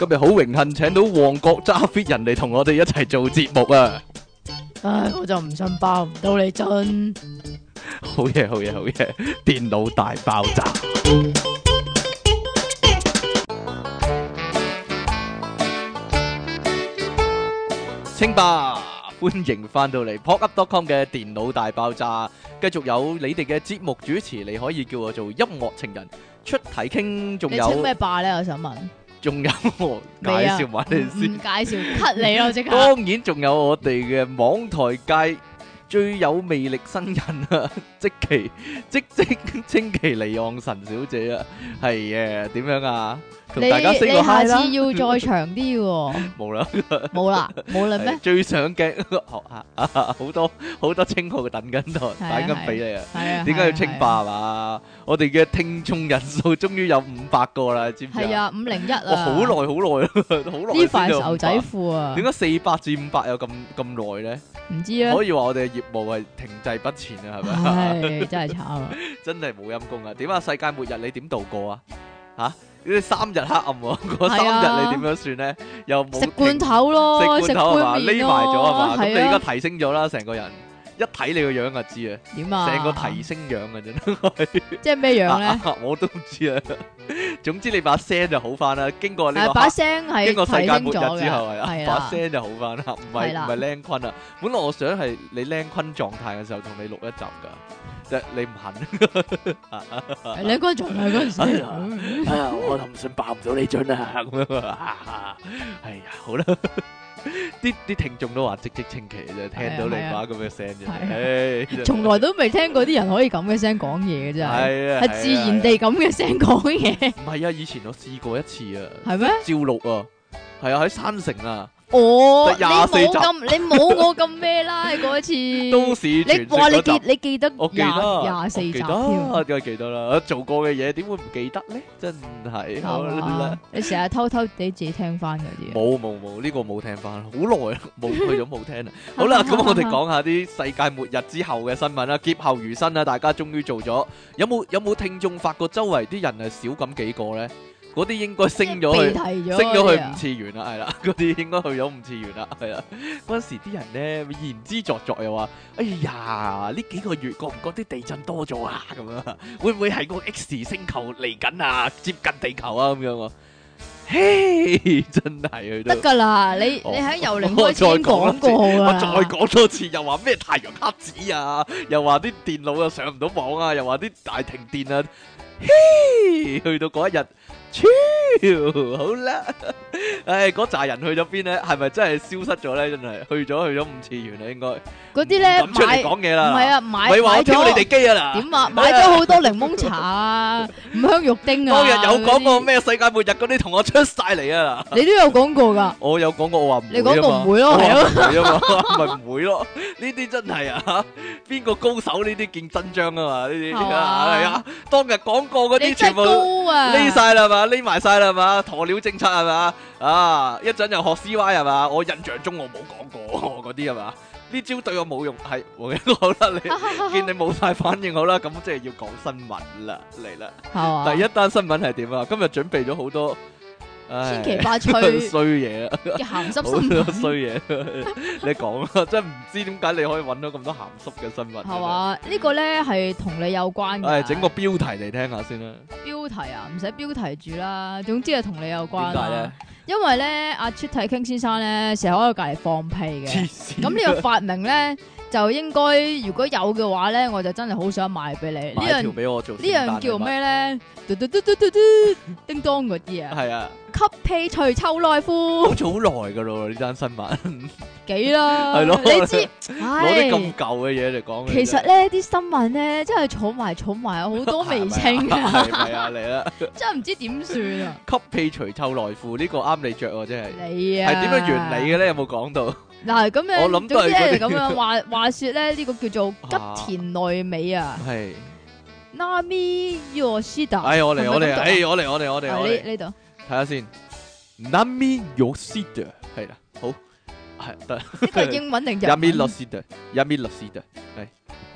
今日好榮幸請到旺角揸 fit 人嚟同我哋一齊做節目啊！ 唉，我就唔信爆唔到你真。 好嘢，好嘢，好嘢！電腦大爆炸。清吧，歡迎翻到嚟 popup.com 嘅電腦大爆炸，繼續有你哋嘅節目主持，你可以叫我做音樂情人出體傾，仲你稱有咩霸咧？我想問。 仲有我介紹埋你先。 唔介紹 cut 你咯，即刻。 當然仲有我哋嘅網台界最有魅力新人啊，積淇積淇離岸神小姐啊，係嘅，點樣啊？同大家 say 個 hi 啦。 你下次要再長啲喎。 冇啦， 冇啦咩？ 最上鏡學下好多稱號等緊台，擺緊俾你啊！ 係啊。 點解要稱霸嘛？我哋嘅聽眾人數終於有500個啦，知唔知啊？ 係啊，501啊！ 哇，好耐好耐呢塊牛仔褲啊！ 點解400至500有咁耐咧？ 唔知啊。 可以話我哋嘅業務係停滯不前啊，係咪？ 唉，真係慘啊！ 真係冇陰功啊！點啊？世界末日你點度過啊？吓，呢啲3日黑暗喎，嗰3日你點樣算咧？又冇食罐頭咯， 食罐頭係嘛？匿埋咗係嘛？咁你而家係提升咗啦，成個人一睇你個樣就知啊！ 點啊？ 成個提升樣啊，真係。 即係咩樣咧？ 我都唔知啊。總之你把聲就好翻啦。經過呢個把聲係經過世界末日之後係係啊，把聲就好翻啦。唔係靚坤啊。本來我想係你靚坤狀態嘅時候同你錄一集噶，但係你唔肯。 靚坤狀態嗰陣時， 哎呀，我就唔信爆唔到你樽啊咁樣啊。係啊，好啦。啲聽眾都話積淇啫，聽到你把咁嘅聲啫，唉， 從來都未聽過啲人可以咁嘅聲講嘢嘅真係，係自然地咁嘅聲講嘢。 唔係啊，以前我試過一次啊， 係咩？ 照錄啊，係啊，喺山城啊。 哦，你冇我咁咩啦？嗰次都市傳說嗰集， 你記得我記得 24集添， 梗係記得啦。做過嘅嘢點會唔記得咧？真係好啦， 你成日偷偷地自己聽翻嗰啲。 冇呢個冇聽翻，好耐啦，冇去咗冇聽啦。好啦，咁我哋講下啲世界末日之後嘅新聞啦，劫後餘生啦，大家終於做咗。有冇聽眾發覺周圍啲人係少咁幾個咧？嗰啲應該升咗去5次元啦，係啦，嗰啲應該去咗5次元啦，係啦。嗰陣時啲人咧言之鑿鑿又話：哎呀，呢幾個月覺唔覺啲地震多咗啊？咁樣會唔會係個 X 星球嚟緊啊？接近地球啊？咁樣喎。嘿，真係佢都得㗎啦！你喺由零開始講過啦。 我再講多次，又話咩太陽黑子啊？又話啲電腦又上唔到網啊？又話啲大停電啊？嘿，去到嗰一日。超好啦，唉，嗰扎人去咗邊咧？係咪真係消失咗咧？真係去咗5次元啦，應該嗰啲咧咁出嚟講嘢啦， 唔係啊，買話我挑你哋機啊啦， 點啊？買咗好多檸檬茶啊，五香肉丁啊， 當日有講過咩世界末日嗰啲同我出晒嚟啊！ 你都有講過噶， 我有講過，我話唔會啊嘛， 你講過唔會咯，係咯， 唔會啊嘛，咪唔會咯？呢啲真係啊，邊個高手呢啲見真章啊嘛？呢啲係啊，當日講過嗰啲全部匿晒啦嘛。匿埋晒啦係嘛，鴕鳥政策係嘛，啊一陣又學 CY 係嘛，我印象中我冇講過嗰啲係嘛，呢招對我冇用，係好啦，你見你冇晒反應好啦，咁即係要講新聞啦，嚟啦，第一單新聞係點啊？今日準備咗好多千奇百趣衰嘢啊， 鹹濕新聞衰嘢，你講啊，真係唔知點解你可以揾到咁多鹹濕嘅新聞。 係嘛？呢個咧係同你有關嘅。 整個標題嚟聽下先啦。標題啊，唔使標題住啦，總之係同你有關。 點解咧？ 因為咧，阿出體傾先生咧，成日喺度隔籬放屁嘅。咁呢個發明咧，就應該如果有嘅話咧，我就真係好想賣俾你。 買條俾我做。 呢樣叫咩咧？嘟嘟嘟嘟嘟嘟，叮當嗰啲啊。 係啊。 吸屁除臭內褲。 好似好耐噶咯，呢單新聞。 幾啦？ 係咯。 你知攞啲咁舊嘅嘢嚟講。 其實咧，啲新聞咧，真係儲埋好多未清啊。 係咪啊？嚟啦。真係唔知點算啊！ 吸屁除臭內褲呢個啱你着喎，真係。 你啊。 係點樣原理嘅咧？有冇講到？ 嗱，咁樣， 我諗都係嗰啲咁樣話說咧，呢個叫做吉田內美啊。 係。 Nami Yoshida。 哎，我嚟。 呢度。 睇下先 ，Nami Yoshida 係啦，好係得。 呢個係英文定日文？ Yami Yoshida 係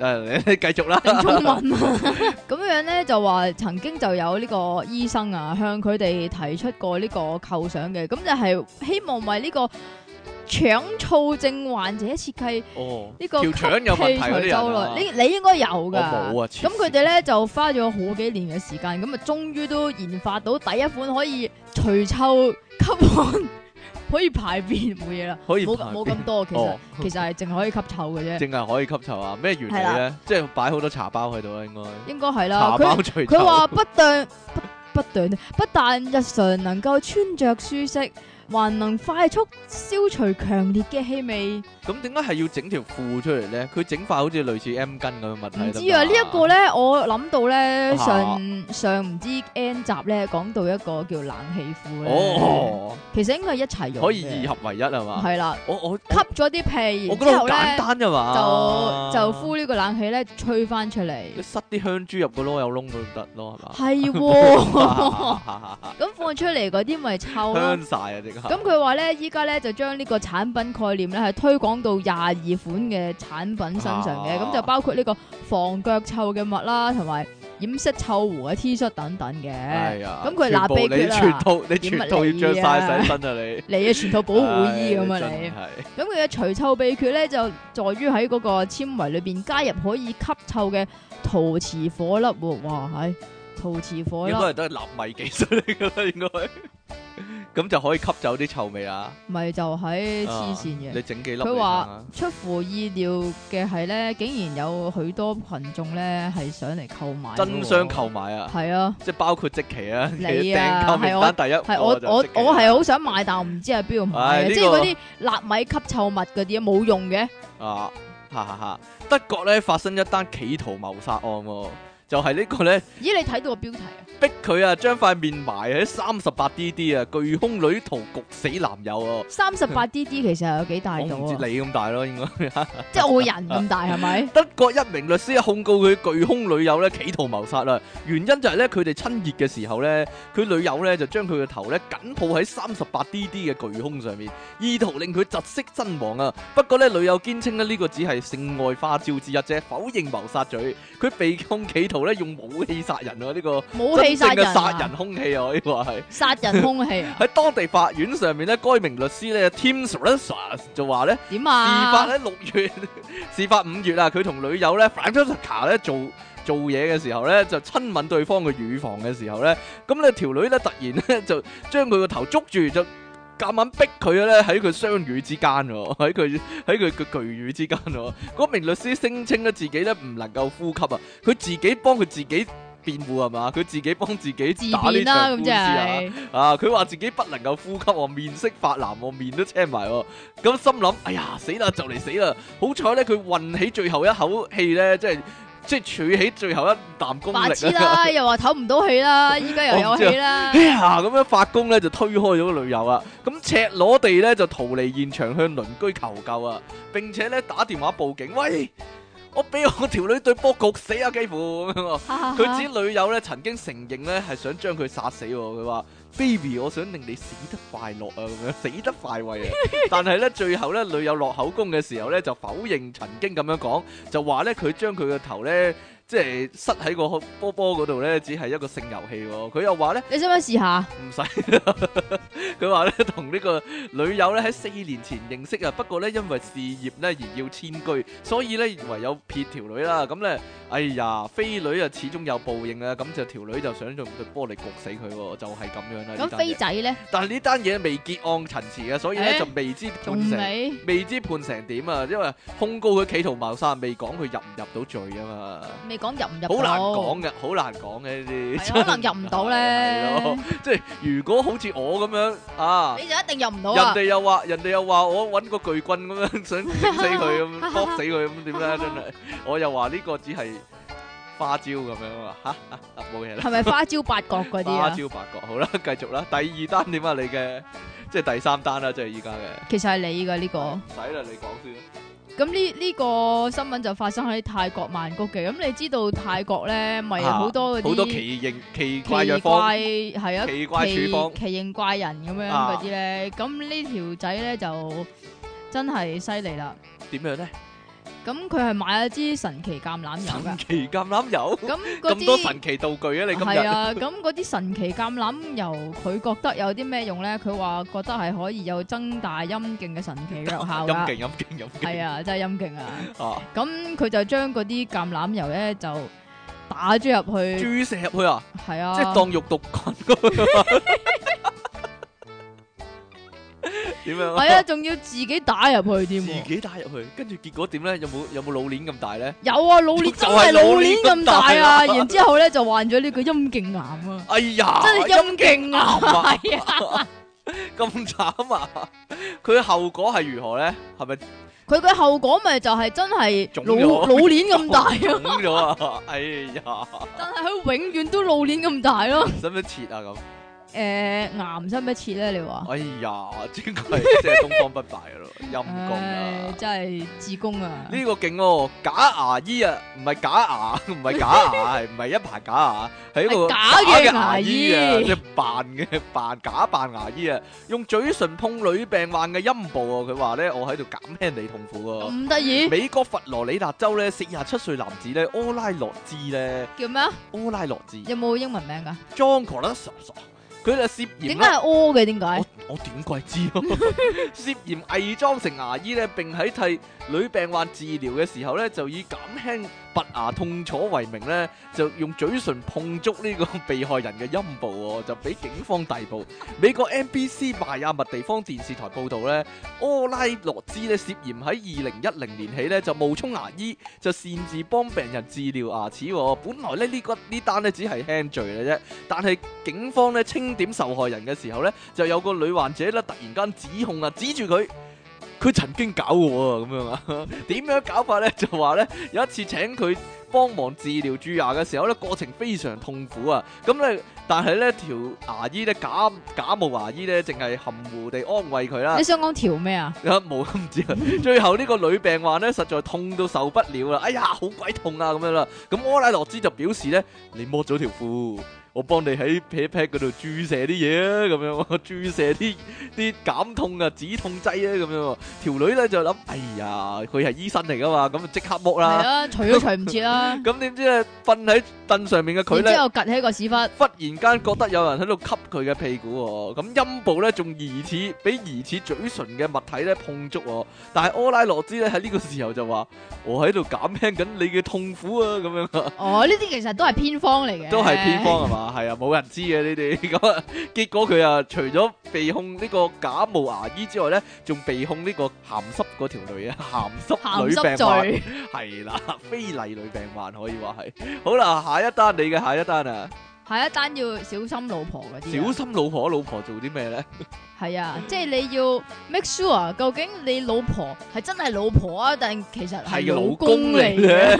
你繼續啦。 定中文啊，咁樣咧就話曾經就有呢個醫生啊向佢哋提出過呢個構想嘅，咁就係希望為呢個腸燥症患者設計呢個吸條腸有問題氣嗰啲人除皺啊率，你應該有我噶。 冇啊， 咁佢哋咧就花咗好幾年嘅時間，咁啊終於都研發到第一款可以除臭吸汗。可以排便冇嘢啦，冇可以排便冇咁多， 哦其實係淨係可以吸臭嘅啫， 淨係可以吸臭啊？咩原理係咧？即係擺好多茶包喺度啦， 應該係啦。 茶包除臭。 佢話不但日常能夠穿着舒適，還能快速消除強烈嘅氣味。 咁點解係要整條褲出嚟咧？佢整塊好似類似 M 巾咁嘅物體。 唔知啊，呢一個咧，我諗到咧啊上唔知 N 集咧講到一個叫冷氣褲咧， 哦， 其實應該係一齊用嘅， 可以二合為一係嘛？ 係啦， 我吸咗啲屁， 我覺得好然之後咧簡單啫嘛。 就呼呢個冷氣咧吹翻出嚟。 你塞啲香珠入個囉柚窿都得咯，係嘛？ 係喎，咁放出嚟嗰啲咪臭咯。 香晒啊！即刻。 咁佢話咧，依家咧就將呢個產品概念咧係推廣到22款嘅產品身上嘅，咁就包括呢個防腳臭嘅襪啦，同埋掩飾臭狐嘅 T 恤等等嘅。 係啊。 咁佢嗱秘訣啦， 你全套要着晒洗身啊！你啊全套保護衣咁啊真你。 係咁佢嘅除臭秘訣咧就在於喺嗰個纖維裏邊加入可以吸臭嘅陶瓷火粒喎，哇係陶瓷火粒應。該係都係納米技術嚟㗎啦，應該。咁就可以吸走啲臭味啊！ 咪就係黐線嘅。 你整幾粒嚟佢睇話下出乎意料嘅係咧，竟然有許多群眾咧係上嚟購買， 爭相購買啊！ 係啊， 即係包括積淇啊， 你啊訂購名單第一係我係好想買，但我唔知喺邊度買嘅， 唉呢個即係嗰啲納米吸臭物嗰啲冇用嘅。 啊，哈哈哈！德國咧發生一單企圖謀殺案喎，就係呢個咧咦，你睇到個標題啊？ 逼佢啊將塊面埋喺38DD啊，巨胸女途焗死男友啊！ 38DD 其實有幾大我唔知度啊？ 你咁大咯，應該。 即係我個人咁大係咪？ 德國一名律師控告佢巨胸女友咧企圖謀殺啦，原因就係咧佢哋親熱嘅時候咧，佢女友咧就將佢嘅頭咧緊抱喺38DD 嘅巨胸上面，意圖令佢窒息身亡啊！不過咧女友堅稱咧呢個只係性愛花招之一啫，否認謀殺罪。佢被控企圖咧用武器殺人啊！呢個武器殺人真正嘅殺人啊！ 兇器啊！可以話係。 殺人兇器啊？ 喺當地法院上面咧，該名律師咧 Tim Srasa 就話咧。 點事發啊？ 咧6月，事發5月啊，佢同女友咧 Francesca 咧做嘢嘅時候咧，就親吻對方嘅乳房嘅時候咧，咁咧條女咧突然咧就將佢個頭捉住，就夾硬逼佢咧喺佢雙乳之間喎，喺佢嘅巨乳之間喎。嗰名律師聲稱咧自己咧唔能夠呼吸啊，佢自己幫佢自己辯護係嘛，佢自己幫自己自打呢辯啦，咁即場官司啊。 係啊！佢話自己不能夠呼吸喎，面色發藍喎，面都青埋喎。咁心諗，哎呀死啦，就嚟死啦！好彩咧，佢運起最後一口氣咧，即係儲起最後一啖功白力啊！ 痴啦，又話唞唔到氣啦，依家又有氣啦哎。呀，咁樣發功咧就推開咗個女友啊！咁赤裸地咧就逃離現場向鄰居求救啊！並且咧打電話報警，喂！我俾我條女對波焗死啊！幾乎咁樣喎。佢指女友咧曾經承認咧係想將佢殺死喎，佢話 baby 我想令你死得快樂啊，咁樣死得快慰啊！但係咧最後咧女友落口供嘅時候咧就否認曾經咁樣講，就話咧佢將佢個頭咧即係塞喺個波波嗰度咧只係一個性遊戲喎。佢又話咧你想唔想試下？ 唔使啦，佢話咧同呢個女友咧喺4年前認識啊，不過咧因為事業咧而要遷居，所以咧唯有撇條女啦。咁咧，哎呀，飛女啊始終有報應啊，咁就條女就想用對玻璃焗死佢喎，就係咁樣啦。 咁飛仔咧， 但係呢單嘢未結案陳詞嘅，所以咧就未知判成， 仲未未知判成點啊，因為控告佢企圖謀殺，未講佢入唔入到罪啊嘛。 未講入唔入到？ 好難講嘅，好難講嘅呢啲， 係啊可能入唔到咧係咯，即係如果好似我咁樣啊， 你就一定入唔到人啊！ 哋又話我揾個巨棍咁樣想整死佢咁，剝死佢咁點咧？真係，我又話呢個只係花招咁樣啊，嚇冇嘢啦。 係咪花椒八角嗰啲花啊？ 招八角，好啦，繼續啦。第二單點啊？你嘅即係第三單啦，即係依家嘅。 其實係你㗎呢個。 唔使啦，你講先。 咁呢個新聞就發生喺泰國曼谷嘅。咁你知道泰國咧，咪好多嗰啲好多奇怪藥奇方， 怪係啊， 奇怪處方奇形怪人咁樣嗰啲咧。咁呢條仔咧就真係犀利啦。 點樣咧？ 咁佢係買咗支神奇橄欖油神㗎。 奇橄欖油， 咁嗰咁多啲神奇道具啊！你今日係啊，咁嗰啲神奇橄欖油，佢覺得有啲咩用咧？佢話覺得係可以有增大陰莖嘅神奇藥效㗎。 陰勁陰勁陰勁係啊，真係陰莖啊！ 啊！ 咁佢就將嗰啲橄欖油咧就打咗入去， 注射入去啊！ 係啊， 即係當肉毒菌咁樣。點樣啊？ 係啊，仲要自己打入去添自喎。 己打入去，跟住結果點咧？有冇老鏈咁大咧？ 有啊，老鏈真係老鏈咁大啊！然之後咧就患咗呢個陰莖癌啊！ 哎呀， 真係陰莖癌啊！ 係啊！ 咁慘啊！佢嘅後果係如何咧？係咪佢嘅後果咪就係真係老腫咗老鏈咁大腫咯， 咗啊？哎呀， 但係佢永遠都老鏈咁大咯。 使唔使切啊咁？ 癌使唔使切咧？你話？ 哎呀，真係即係東方不敗咯，陰公啊！ 真係自宮啊！ 呢個勁喎，假牙醫啊，唔係假牙，唔係假牙，係唔係一排假牙，係一個係假嘅嘅牙醫啊，即係假扮牙醫啊，用嘴唇碰女病患嘅陰部啊，佢話咧我喺度減輕你痛苦喎。 咁得意美國佛羅里達州咧47歲男子咧柯拉洛茲咧， 叫咩啊？ 柯拉洛茲有冇英文名噶？ John Colas，佢就涉嫌咧點解係屙嘅？點解？ 我點鬼知咯？涉嫌偽裝成牙醫咧，並喺替女病患治療嘅時候咧，就以減輕拔牙痛楚為名咧，就用嘴唇碰觸呢個被害人嘅陰部喎，就俾警方逮捕。美國 NBC 邁阿密地方電視台報導咧，柯拉洛茲咧涉嫌喺2010年起咧就冒充牙醫，就擅自幫病人治療牙齒喎。本來咧呢單咧只係輕罪嘅啫，但係警方咧清點受害人嘅時候咧，就有個女患者咧突然間指控啊，指住佢曾經搞我啊咁樣啊，點樣搞法咧？就話咧有一次請佢幫忙治療蛀牙嘅時候咧，過程非常痛苦啊！咁咧，但係咧條牙醫咧假冒牙醫咧，淨係含糊地安慰佢啦你。想講條咩啊？ 冇唔知啊！最後呢個女病患咧，實在痛到受不了啦！哎呀，好鬼痛啊咁樣啦！咁柯拉洛茲就表示咧，你剝咗條褲。我幫你喺 pat pat 嗰度注射啲嘢啊，咁樣注射啲減痛啊、止痛劑啊，咁樣。條女咧就諗，哎呀，佢係醫生嚟噶嘛，咁就即刻剝係啦。 啊，除都除唔切啦。 咁點知咧，瞓喺凳上面嘅佢咧， 然之後趌起個屎忽， 忽然間覺得有人喺度吸佢嘅屁股喎。咁陰部咧仲疑似俾疑似嘴唇嘅物體咧碰觸喎。但係柯拉洛茲咧喺呢個時候就話：我喺度減輕緊你嘅痛苦啊，咁樣啊。 哦，呢啲其實都係偏方嚟嘅， 都係偏方係嘛？係啊，冇人知嘅呢啲咁啊。結果佢啊，除咗被控呢個假冒牙醫之外咧，仲被控呢個鹹濕嗰條女啊，鹹濕鹹女病濕患罪。 係啦，非禮女病患可以話係。好啦，下一單你嘅下一單啊， 下一單要小心老婆嗰啲啊。 小心老婆做啲咩咧？ 係啊，即係你要 make sure 究竟你老婆係真係老婆啊，定其實係老公嚟嘅？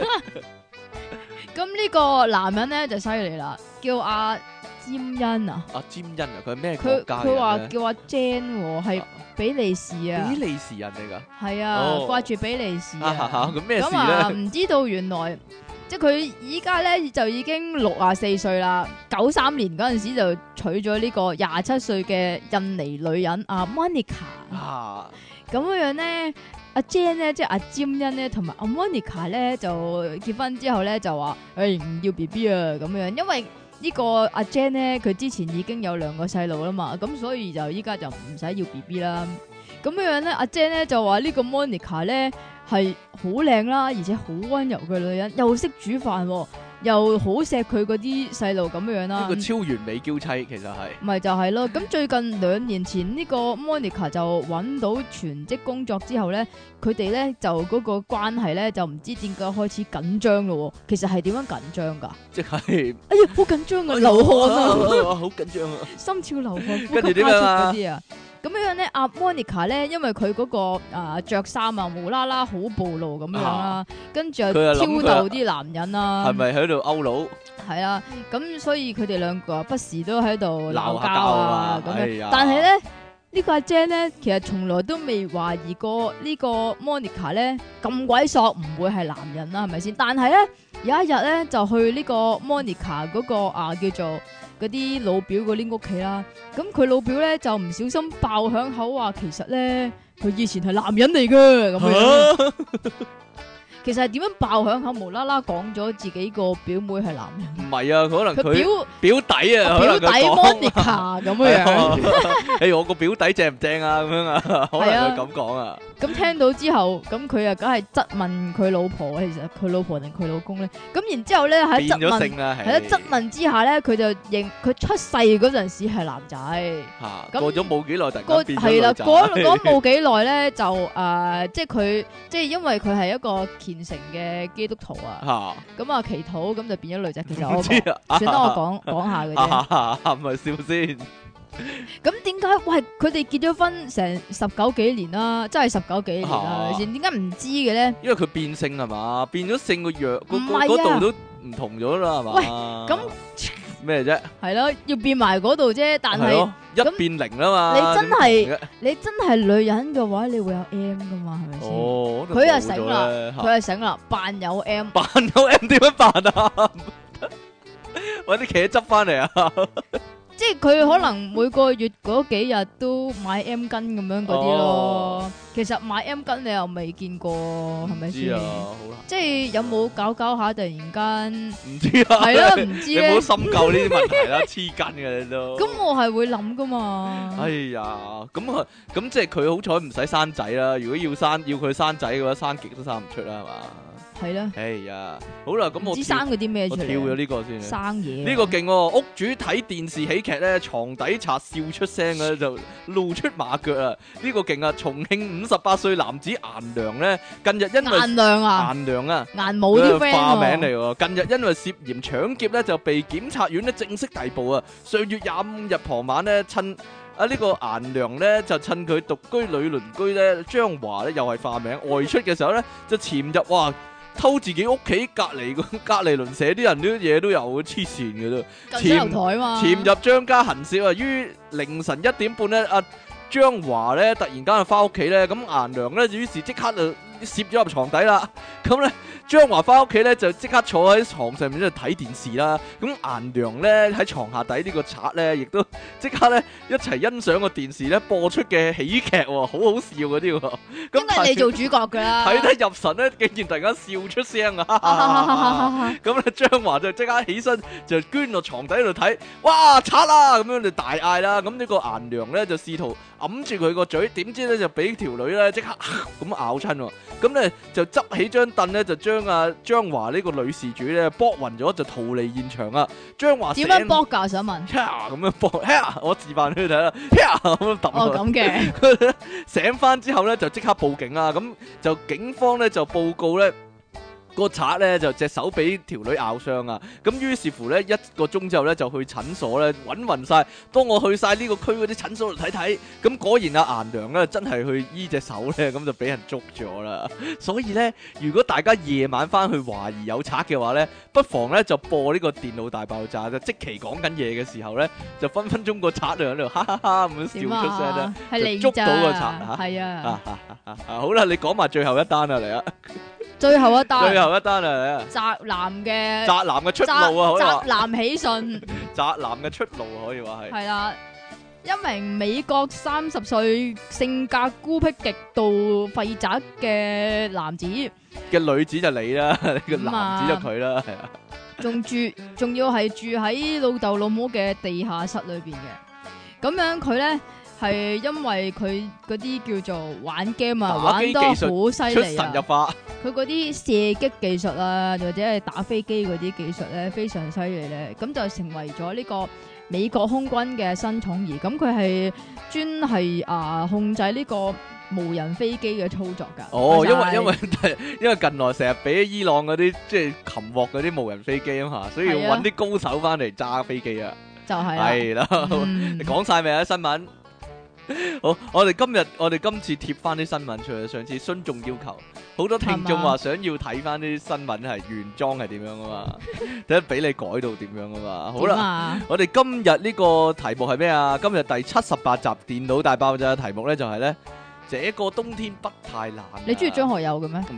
咁呢個男人咧就犀利啦，叫阿詹恩啊， 阿詹恩啊，佢係咩國佢家嘅佢話人咧？ 叫阿 Jan 喎，係比利時啊比，利時人嚟㗎。 係啊， 哦掛住比利時啊。 咁咩事咁啊， 咧？ 唔知道原來即係佢依家咧就已經64歲啦，93年嗰陣時就娶咗呢個27歲嘅印尼女人阿 Monica。 啊， 咁樣咧，阿 Jan 咧即係阿詹恩咧，同埋阿 Monica 咧就結婚之後咧就話唔要 BB 啊咁樣，因為呢個阿 Jan 咧佢之前已經有2個細路啦嘛，咁所以就依家就唔使要 BB 啦。咁樣咧，阿 Jan 咧就話呢個 Monica 咧係好靚啦，而且好溫柔嘅女人，又識煮飯喎，又好錫佢嗰啲細路咁樣啦。 呢個超完美嬌妻其實係。 咪就係咯，咁最近2年前呢個 Monica 就揾到全職工作之後咧，佢哋咧就嗰個關係咧就唔知點解開始緊張咯。其實係點樣緊張㗎？ 即係哎呀，好緊張啊，流汗啊， 好緊張啊！ 心跳流汗，呼跟住吸加速點樣啊嗰啲啊。咁樣咧，阿 Monica 咧，因為佢嗰個着衫啊，無啦啦好暴露咁樣啦，跟住又佢又諗挑佢逗啲男人啦， 係咪喺度勾佬係啊，咁所以佢哋兩個不時都喺度鬧交鬧下交啊啊咁樣。 哎呀但係咧，呢個阿 Jan 咧，其實從來都未懷疑過呢個 Monica 咧咁鬼索唔會係男人啦，係咪先？但係咧有一日咧就去呢個 Monica 嗰個叫做嗰啲老表嗰啲屋企啦，咁佢老表咧就唔小心爆響口話，其實咧佢以前係男人嚟嘅咁樣。 其實係點樣爆響口，無啦啦講咗自己個表妹係男人， 唔係啊，可能佢佢表弟啊， 表弟可能佢講 Monica 咁樣樣。 誒，我個表弟正唔正啊？咁樣啊，可能佢咁講啊。 咁聽到之後，咁佢啊，梗係質問佢老婆，其實佢老婆定佢老公咧？咁然之後咧喺質變咗問， 性啦， 喺質問之下咧，佢就認佢出世嗰陣時係男仔。 嚇， 咁過咗冇幾耐，突然間變咗係啦， 女仔。 嗰冇幾耐咧，就即係佢，即係因為佢係一個虔誠嘅基督徒啊。 嚇， 咁啊祈禱，咁就變咗女仔。其實我唔知啊， 算啦，我講下嘅啫。 唔係笑先。 咁點解？喂，佢哋結咗婚成19幾年啦，真係19幾年啦，係咪先？點解唔知嘅咧？ 因為佢變性係嘛，變咗性個樣唔係啊嗰度都唔同咗啦，係嘛？ 喂咁咩啫？ 係咯，要變埋嗰度啫。但係係咯，一變零啦嘛。 你真係點同嘅你真係女人嘅話，你會有 M 噶嘛？係咪先？ 哦， 佢係係醒啦，佢係醒啦，扮有 M。 扮有 M 點樣扮啊？搵啲茄汁翻嚟啊！ 即係佢可能每個月嗰幾日都買 M 巾咁樣嗰啲咯。 哦其實買 M 巾你又未見過，係咪先唔知啊，？好難。 即係有冇搞下突然間唔知啊， 係咯，唔知你咧唔好。深究呢啲問題啦，黐筋嘅你都。 咁我係會諗噶嘛。 哎呀，咁即係佢好彩唔使生仔啦。如果要佢生仔嘅話，生極都生唔出啦，係嘛？ 係啦， 哎呀，好啦，咁唔知生嗰啲咩出嚟。 我跳咗呢個先。 生嘢。 呢個勁喎，屋主睇電視喜劇咧，床底賊笑出聲咧，就露出馬腳啊！呢個勁啊！重慶58歲男子顏良咧，近日因為顏良啊， 顏良啊。 顏冇啲 friend 化名喎。 嚟喎，近日因為涉嫌搶劫咧，就被檢察院咧正式逮捕啊！上月25日傍晚咧，趁呢個顏良咧就趁佢獨居女鄰居咧張華咧又係化名外出嘅時候咧，就潛入偷自己屋企隔離鄰舍啲人啲嘢都有，黐線嘅都。 近水樓台嘛。 潛入張家行竊啊！於凌晨1點半咧，阿張華咧突然間就翻屋企咧，咁顏良咧於是即刻就攝咗入床底啦。咁咧張華翻屋企咧就即刻坐喺床上面喺度睇電視啦。咁顏良咧喺床下底呢個賊咧，亦都即刻咧一齊欣賞個電視咧播出嘅喜劇喎，好好笑嗰啲喎。 應該係你做主角㗎啦。 睇得入神咧，竟然突然間笑出聲啊！咁咧張華就即刻起身就捐落床底度睇，哇賊啊！咁樣就大嗌啦。咁呢個顏良咧就試圖揞住佢個嘴，點知咧就俾條女咧即刻咁咬親喎。咁咧就執起張凳咧就將張華呢個女事主咧搏暈咗，就逃離現場啊！張華點樣搏㗎？想問。 咁樣搏，我示範俾你睇啦，咁樣揼哦，咁嘅。 醒翻之後咧就即刻報警啦，咁就警方咧就報告咧個賊咧就隻手俾條女咬傷啊，咁於是乎咧1個鐘之後咧就去診所咧揾勻晒，當我去晒呢個區嗰啲診所度睇睇，咁果然阿顏良咧真係去醫隻手咧，咁就俾人捉咗啦。所以咧，如果大家夜晚翻去懷疑有賊嘅話咧，不妨咧就播呢個電腦大爆炸，就即期講緊嘢嘅時候咧，就分分鐘個賊就喺度哈哈哈咁樣笑出聲咧， 係你就捉到個賊咋。係啊。 好啦，你講埋最後一單啊，嚟啊！ 最後一單。 最後一單啊，嚟啊！ 宅男嘅。 宅男嘅出路啊，可以話宅男喜訊。 宅男嘅出路可以話係。 係啦，一名美國30歲、性格孤僻、極度廢宅嘅男子， 嘅女子就你啦，個男子就佢啦，係啊。 仲要係住喺老豆老母嘅地下室裏邊嘅。咁樣佢咧係因為佢嗰啲叫做玩 game 啊，玩得好犀出利啊！ 神入化。 佢嗰啲射擊技術啊，或者係打飛機嗰啲技術咧，非常犀利咧。咁就成為咗呢個美國空軍嘅新寵兒。咁佢係專係控制呢個無人飛機嘅操作㗎。 哦，因為近來成日俾伊朗嗰啲即係擒獲嗰啲無人飛機啊嘛，所以要揾啲高手翻嚟揸飛機啊。 就係係啦，你講晒未啊新聞？好，我哋今次貼翻啲新聞出嚟，上次孫眾要求，好多聽眾話想要睇翻啲新聞係原裝係點樣啊嘛，睇俾你改到點樣啊嘛。好啦，我哋今日呢個題目係咩啊？今日第78集電腦大爆炸嘅題目咧就係咧，這個冬天不太冷。 你中意張學友嘅咩？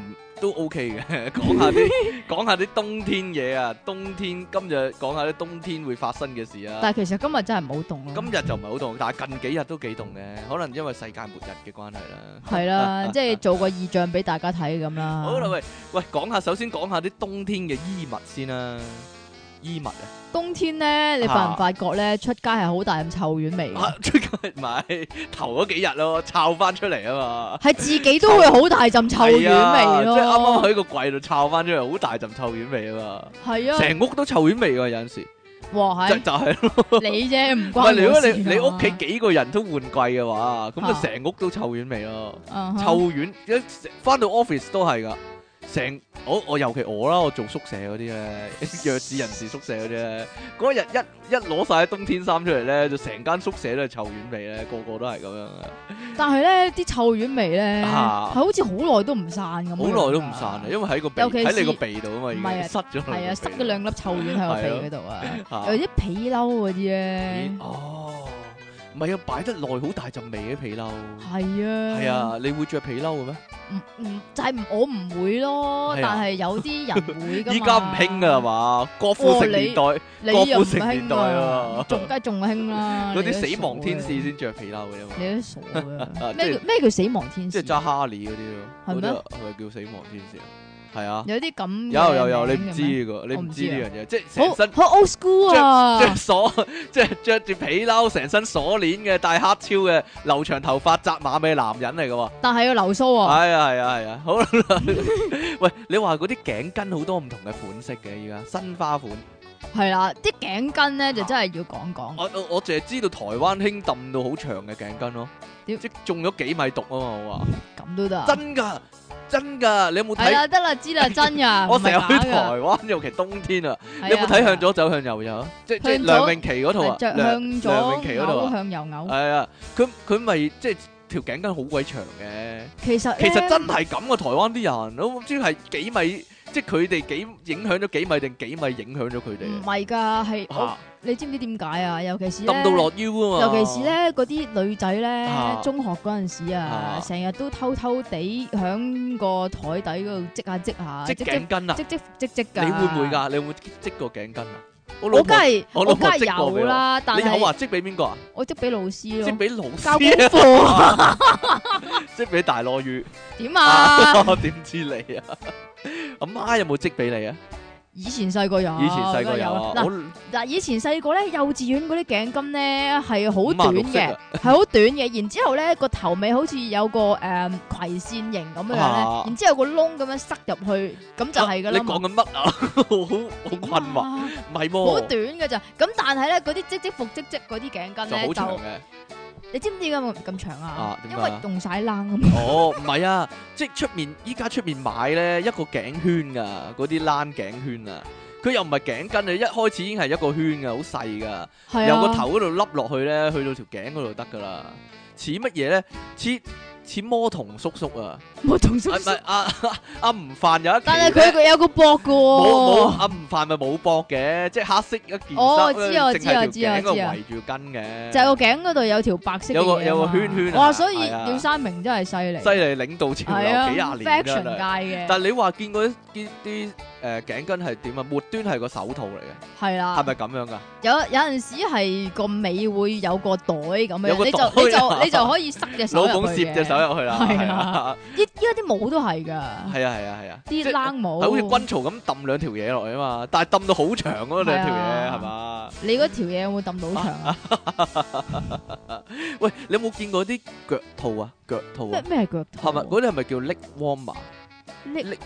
都 OK 嘅，講下啲冬天嘢啊，冬天今日講下啲冬天會發生嘅事啊。 但係其實今日真係唔好凍咯。 今日就唔係好凍，但係近幾日都幾凍嘅，可能因為世界末日嘅關係啦。 係啦，即係做個異象俾大家睇咁啦。 好啦，喂，首先講下啲冬天嘅衣物先啦。衣物啊， 冬天咧，你發唔發覺咧，出街係好大陣臭丸味嘅？ 出街唔係頭嗰幾日咯，摷翻出嚟啊嘛。 係自己都會好大陣臭丸味咯。 即係啱啱喺個櫃度摷翻出嚟，好大陣臭丸味啊嘛。 係啊， 成屋都臭丸味㗎，有陣時。 哇， 就係咯， 你啫，唔唔係如果關我事你屋企幾個人都換季嘅話，咁啊成屋都臭丸味咯。臭丸一翻到 office 都係㗎。我尤其我啦，我做宿舍嗰啲咧，弱智人士宿舍嗰啲咧，嗰日一攞晒啲冬天衫出嚟咧，就成間宿舍都係臭丸味咧，個個都係咁樣嘅。 但係咧，啲臭丸味咧，係好似好耐都唔散咁。 好耐都唔散啊，因為喺個鼻喺你個鼻度啊嘛，已經塞咗。 係啊，塞咗兩粒臭丸喺個鼻嗰度啊，有啲皮褸嗰啲咧。 哦，唔係啊，擺得耐好大陣味嘅皮褸。 係啊。 係啊，你會着皮褸嘅咩？ 就係我唔會咯，但係有啲人會噶嘛。 依家唔興噶係嘛？郭富城年代，郭富城年代啊， 仲興啦。 嗰啲死亡天使先着皮褸嘅嘛。 你都傻啊！咩叫死亡天使？ 即係揸哈利嗰啲咯。 係咩？ 係咪叫死亡天使啊？係啊， 有啲咁有，你唔知呢個，你唔知呢樣嘢，即係成身好 old school 啊！ 即係着住皮褸，成身鎖鏈嘅，戴黑超嘅，留長頭髮，紮馬尾男人嚟嘅喎。 但係要留鬚啊！ 係啊，好啦，喂，你話嗰啲頸巾好多唔同嘅款式嘅，而家新花款。 係啦，啲頸巾咧就真係要講講。 我淨係知道台灣興揼到好長嘅頸巾咯，即係中咗幾米毒啊嘛，我話。 咁都得？ 真噶，你有冇睇？ 係啊，得啦，知啦，真噶。 我成日去台灣，尤其冬天啊，你有冇睇向左走向右走？即係梁詠琪嗰套啊， 向左梁詠琪嗰套啊， 向右嘔。 係啊，佢咪即係條頸巾好鬼長嘅。 其實真係咁嘅，台灣啲人，我唔知係幾米，即係佢哋幾影響咗幾米定幾米影響咗佢哋？ 唔係㗎，係你知唔知點解啊？尤其是揼到落腰啊嘛！ 尤其是咧嗰啲女仔咧，中學嗰陣時啊，成日都偷偷地響個台底嗰度織下， 織頸巾啊， 織㗎。 你會唔會㗎？你會唔會織過頸巾啊？ 我梗係有啦，但係你有話織俾邊個啊？ 我織俾老師咯， 織俾老師交功課， 織俾大羅魚點啊？ 我點知你啊？阿媽有冇織俾你啊？ 以前細個有嗱，以前細個咧，幼稚園嗰啲頸巾咧係好短嘅，係好短嘅。然之後咧個頭尾好似有個葵線形咁樣咧，然之後有個窿咁樣塞入去，咁就係噶啦。 你講緊乜啊？好困惑，唔係喎， 好短嘅咋。咁但係咧嗰啲織服織嗰啲頸巾咧就好長嘅。 你知唔知點解咁長啊？因為用晒冷咁。 哦，唔係啊，即係依家出面買咧一個頸圈噶，嗰啲冷頸圈啊，佢又唔係頸巾啊，一開始已經係一個圈噶，好細噶，由個頭嗰度笠落去咧，去到條頸嗰度得噶啦，似乜嘢咧？似魔童叔叔啊！ 魔童叔叔， 阿吳範有一期， 但係佢有個膊噶喎。 冇阿吳範咪冇膊嘅，即係黑色一件衫，淨係條頸度圍住巾嘅。就係個頸嗰度有條白色嘅嘢， 有個圈圈。 哇！所以廖山明真係犀利， 犀利領導潮流幾廿年 fashion 界嘅。 但係你話見過啲頸巾係點啊？末端係個手套嚟嘅， 係啦， 係咪咁樣噶？ 有陣時係個尾會有個袋咁樣，你就可以塞隻手入去嘅。老公攝隻手入去啦，係啊！依家啲帽都係噶， 係啊， 啲冷帽係好似軍曹咁揼兩條嘢落去啊嘛，但係揼到好長嗰兩條嘢係嘛？ 你嗰條嘢有冇揼到好長啊？ 喂，你有冇見過啲腳套啊？腳套咩係腳套？ 係咪嗰啲係咪叫 leg warmer？leg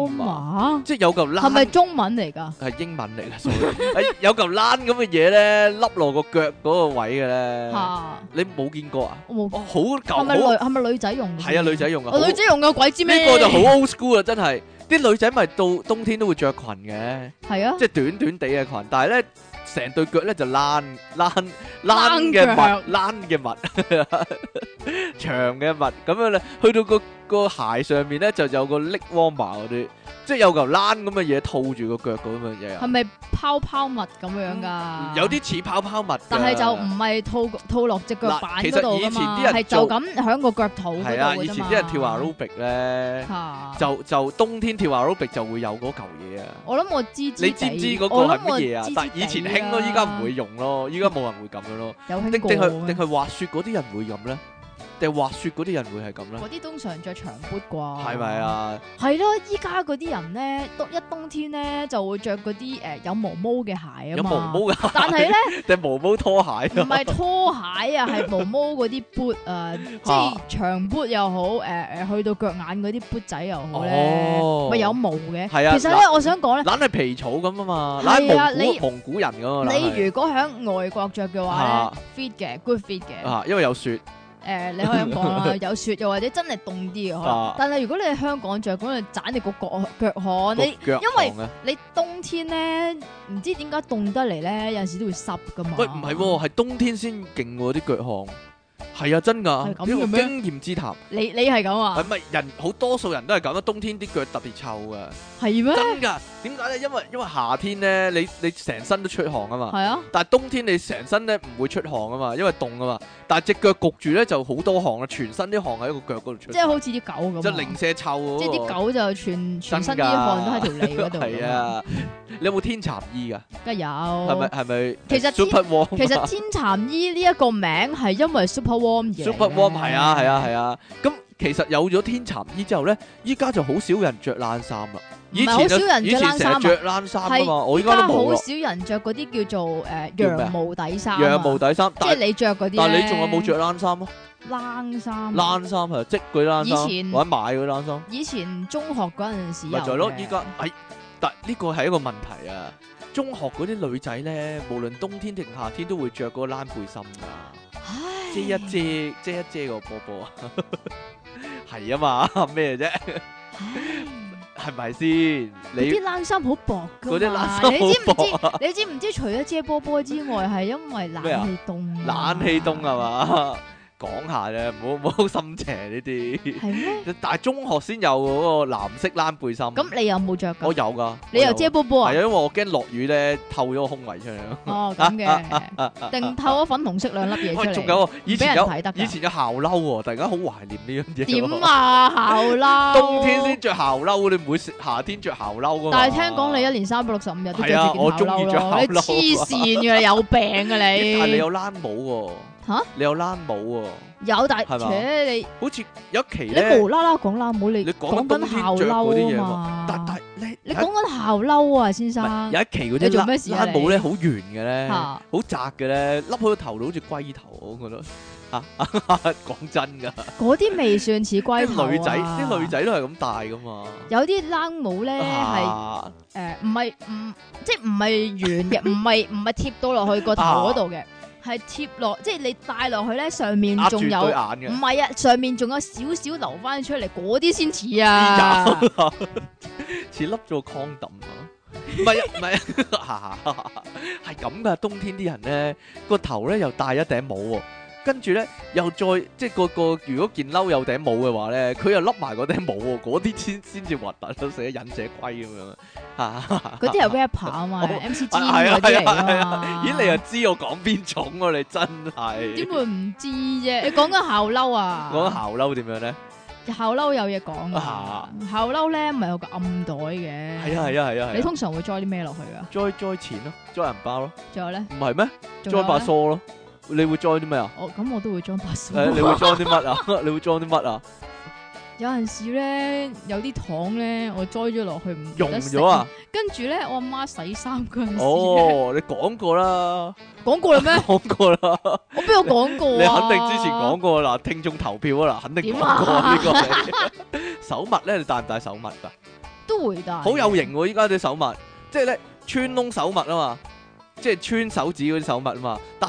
warmer 即係有嚿冷， 係咪中文嚟㗎？ 係英文嚟㗎，有嚿冷咁嘅嘢咧，笠落個腳嗰個位嘅咧。你冇見過啊？ 我冇。 好舊， 係咪女仔用？ 係啊，女仔用啊。 女仔用嘅鬼知咩？ 呢個就好 old school 啊！真係，啲女仔咪到冬天都會着裙嘅。係啊，即係短短地嘅裙，但係咧成對腳咧就冷嘅襪，長嘅襪咁樣咧，去到個個鞋上面咧就有個 leg warmer 嗰啲，即係有嚿冷咁嘅嘢套住個腳咁嘅嘢啊。 係咪泡泡襪咁樣㗎？ 有啲似泡泡襪㗎， 但係就唔係套落隻腳板嗰度其實以前㗎嘛， 啲人係就咁喺個腳肚嗰度係啊， 㗎啫嘛。 以前啲人跳 aerobic 咧， 嚇就冬天跳 aerobic就會有嗰嚿嘢啊。 我諗我知你知唔知嗰個係乜嘢啊？但係以前興咯，依家唔會用咯，依家冇人會咁樣咯。 有興定過咩係定係滑雪嗰啲人會咁咧？定係滑雪嗰啲人會係咁咧？ 嗰啲通常着長 boot 啩？ 係咪啊？ 係咯，依家嗰啲人咧，冬天咧就會着嗰啲有毛毛嘅鞋啊嘛。 有毛毛嘅鞋， 但係咧定毛毛拖鞋唔係拖鞋啊，係毛毛嗰啲 boot 啊，即係長 boot 又好，去到腳眼嗰啲 boot 仔又好咧， 哦咪有毛嘅。 係啊其實咧，我想講咧， 懶係皮草咁啊嘛， 係啊懶蒙古人咁啊。 你如果喺外國着嘅話咧，fit 嘅 good fit 嘅。 啊，因為有雪。 你可以咁講啦，有雪又或者真係凍啲嘅可能。但係如果你喺香港着，咁你盞你個腳汗，因為你冬天咧唔知點解凍得嚟咧，有陣時都會濕噶嘛。 喂，唔係喎，係冬天先勁喎啲腳汗。係啊，真㗎，呢個經驗之談。 你係咁啊？ 係咪人好多數人都係咁啊？冬天啲腳特別臭噶。 係咩？ 真㗎？點解咧？因為夏天咧，你成身都出汗啊嘛。 係啊。 但係冬天你成身咧唔會出汗啊嘛，因為凍啊嘛。但係隻腳焗住咧就好多汗啊，全身啲汗喺個腳嗰度出。 即係好似啲狗咁。 即係零舍臭喎。 即係啲狗就全身啲汗都喺條脷嗰度。 係啊。你有冇天蠶衣㗎？ 梗係有。 係咪？ 其實 Super Warm。 其實天蠶衣呢一個名係因為 Super Warm 而 Super Warm 係啊。咁其實有咗天蠶衣之後咧，依家就好少人着冷衫啦。 唔係好少人着冷衫啊， 着冷衫啊嘛，我依家都冇好少人着嗰啲叫做羊毛底衫。 羊毛底衫， 即係你着嗰啲。 但係你仲有冇着冷衫啊？ 冷衫。 冷衫係織嗰啲冷衫， 以前或者買嗰啲冷衫。 以前中學嗰陣時咪就係咯，依家但呢個係一個問題啊！中學嗰啲女仔咧，無論冬天定夏天都會着嗰個冷背心噶，遮一遮個波波啊，係啊嘛，咩啫？係咪先？你啲冷衫好薄噶嘛？ 嗰啲冷衫好薄啊！ 你知唔知？除咗遮波波之外，係因為冷氣凍。 冷氣凍係嘛？講下啫，唔好心邪呢啲。 係咩？ 但係中學先有嗰個藍色冷背心。 咁你有冇着噶？ 我有噶。 你又遮波波啊？ 係啊，因為我驚落雨咧透咗個胸圍出嚟咯。 哦，咁嘅，定透咗粉紅色兩粒嘢出嚟。 仲有以前有校褸喎，突然間好懷念呢樣嘢。 點啊校褸？ 冬天先着校褸，你唔會夏天着校褸噶嘛？ 但係聽講你1年365日都着住件校褸咯。 我中意着校褸。 你黐線嘅，你有病啊你！ 但係你有冷帽喎。嚇！你有冷帽喎？ 有，但係你好似有一期咧， 你無啦啦講冷帽，你講緊校褸啊嘛？ 但你講緊校褸啊，先生。 有一期嗰啲冷帽咧，好圓嘅咧，好窄嘅咧，笠喺個頭度好似龜頭，我覺得嚇。講真㗎，嗰啲未算似龜頭啊。 啲女仔都係咁戴噶嘛。 有啲冷帽咧係唔係即係唔係圓嘅，唔係貼到落去個頭嗰度嘅。係貼落，即係你戴落去咧，上面仲有，唔係啊，上面仲有少少留翻出嚟，嗰啲先似啊， 似笠咗個 condom 啊，唔係，係咁噶，冬天啲人咧個頭咧又戴一頂帽喎。跟住咧，又再即係個如果件褸有頂帽嘅話咧，佢又笠埋嗰頂帽喎，嗰啲先至核突咯，寫忍者龜咁樣啊！ 嗰啲係 rapper 啊嘛，MC Jin 嗰啲嚟啊嘛。 咦，你又知我講邊種喎？你真係點會唔知啫？你講緊校褸啊？ 講緊校褸點樣咧？ 校褸有嘢講啊！校褸咧唔係有個暗袋嘅。 係啊！ 你通常會裝啲咩落去噶？ 裝錢咯，裝銀包咯。 仲有咧？ 唔係咩？裝把梳咯。你會裝啲咩啊？ 咁我都會裝把梳。 你會裝啲乜啊？你會裝啲乜啊？ 有陣時咧，有啲糖咧，我栽咗落去唔溶咗啊！ 跟住咧，我阿媽洗衫嗰陣時， 你講過啦， 講過啦咩？ 講過啦， 我邊有講過啊？ 你肯定之前講過啦，聽眾投票啊啦，肯定講過呢個。手襪咧，你戴唔戴手襪噶？ 都會戴。好有型喎！依家啲手襪，即係咧穿窿手襪啊嘛，即係穿手指嗰啲手襪啊嘛，但係咧。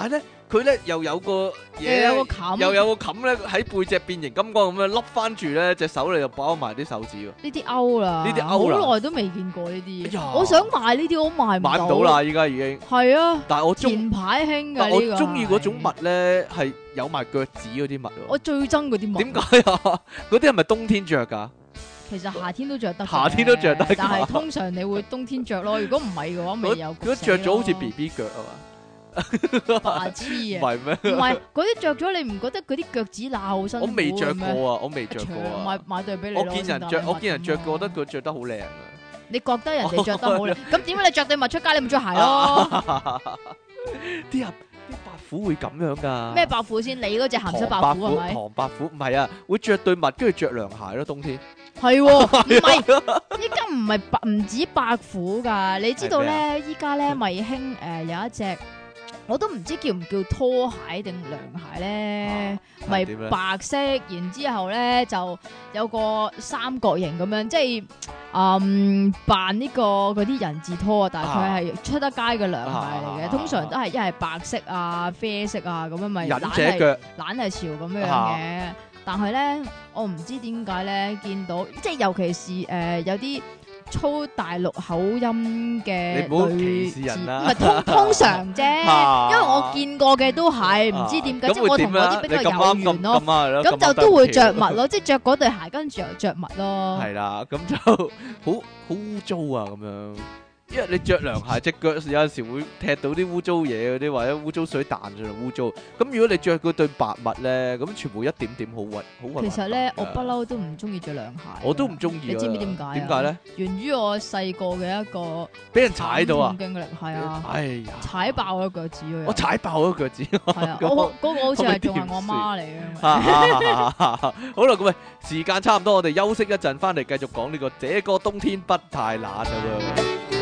佢咧又有個嘢， 又有個冚又有個冚咧喺背脊變形金剛咁樣笠翻住咧，隻手你就包埋啲手指喎。 呢啲歐啦， 呢啲歐啦好耐都未見過呢啲哎呀嘢。我想買呢啲，我買買唔到啦，依家已經。 係啊， 但係我中， 前排興但我㗎呢個。 中意嗰種襪咧係有埋腳趾嗰啲襪喎。 我最憎嗰啲襪。 點解啊？嗰啲係咪冬天着㗎？ 其實夏天都着得嘅， 夏天都着得㗎但係通常你會冬天着咯。如果唔係嘅話，咪有嗰着咗好似 BB 腳啊嘛？ 白痴啊！ 唔係咩？ 唔係嗰啲着咗，你唔覺得嗰啲腳趾罅好辛苦我未着過嘅咩？ 啊，我未着過啊。 買對俾你咯。 我見人着，我見人着過，覺得得。 佢着得好靚啊。 你覺得人哋着得好靚，咁點解你着對襪出街，你唔着鞋咯？ 啲人啲白虎會咁樣㗎？ 咩白虎先？你嗰隻鹹濕白虎係咪？ 唐白虎唔係啊，會着對襪跟住着涼鞋咯，冬天。 係喎，唔係依家唔係白唔止白虎㗎，你知道係咧？依家咧咪興有一隻，我都唔知叫唔叫拖鞋定涼鞋咧，咪點咧白色，然之後咧就有個三角形咁樣，即係扮呢個嗰啲人字拖啊，但係佢係出得街嘅涼鞋嚟嘅，通常都係一係白色啊、啡色啊咁樣咪忍懶係者腳懶係潮咁樣嘅。但係咧，我唔知點解咧，見到即係尤其是有啲粗大陸口音嘅你唔好女歧視人啦唔係通常啫，因為我見過嘅都係唔知點解，即係我同嗰啲比較有緣咯，咁就都會着襪咯，即係着嗰對鞋，跟住又着襪咯。 係啦，咁就好污糟啊咁樣。因為你着涼鞋，隻腳有陣時會踢到啲污糟嘢嗰啲，或者污糟水彈上嚟污糟。咁如果你着嗰對白襪咧，咁全部一點點好核好核。 其實咧，我不嬲都唔中意着涼鞋。 我都唔中意。 你知唔知點解？ 點解咧？ 源於我細個嘅一個俾人踩到啊！ 經歷係啊， 哎呀， 踩爆咗腳趾啊！ 我踩爆咗腳趾。 係啊，我嗰個好似係仲係我媽嚟嘅。 好啦，咁喂，時間差唔多，我哋休息一陣，翻嚟繼續講呢個這個冬天不太冷啊喎。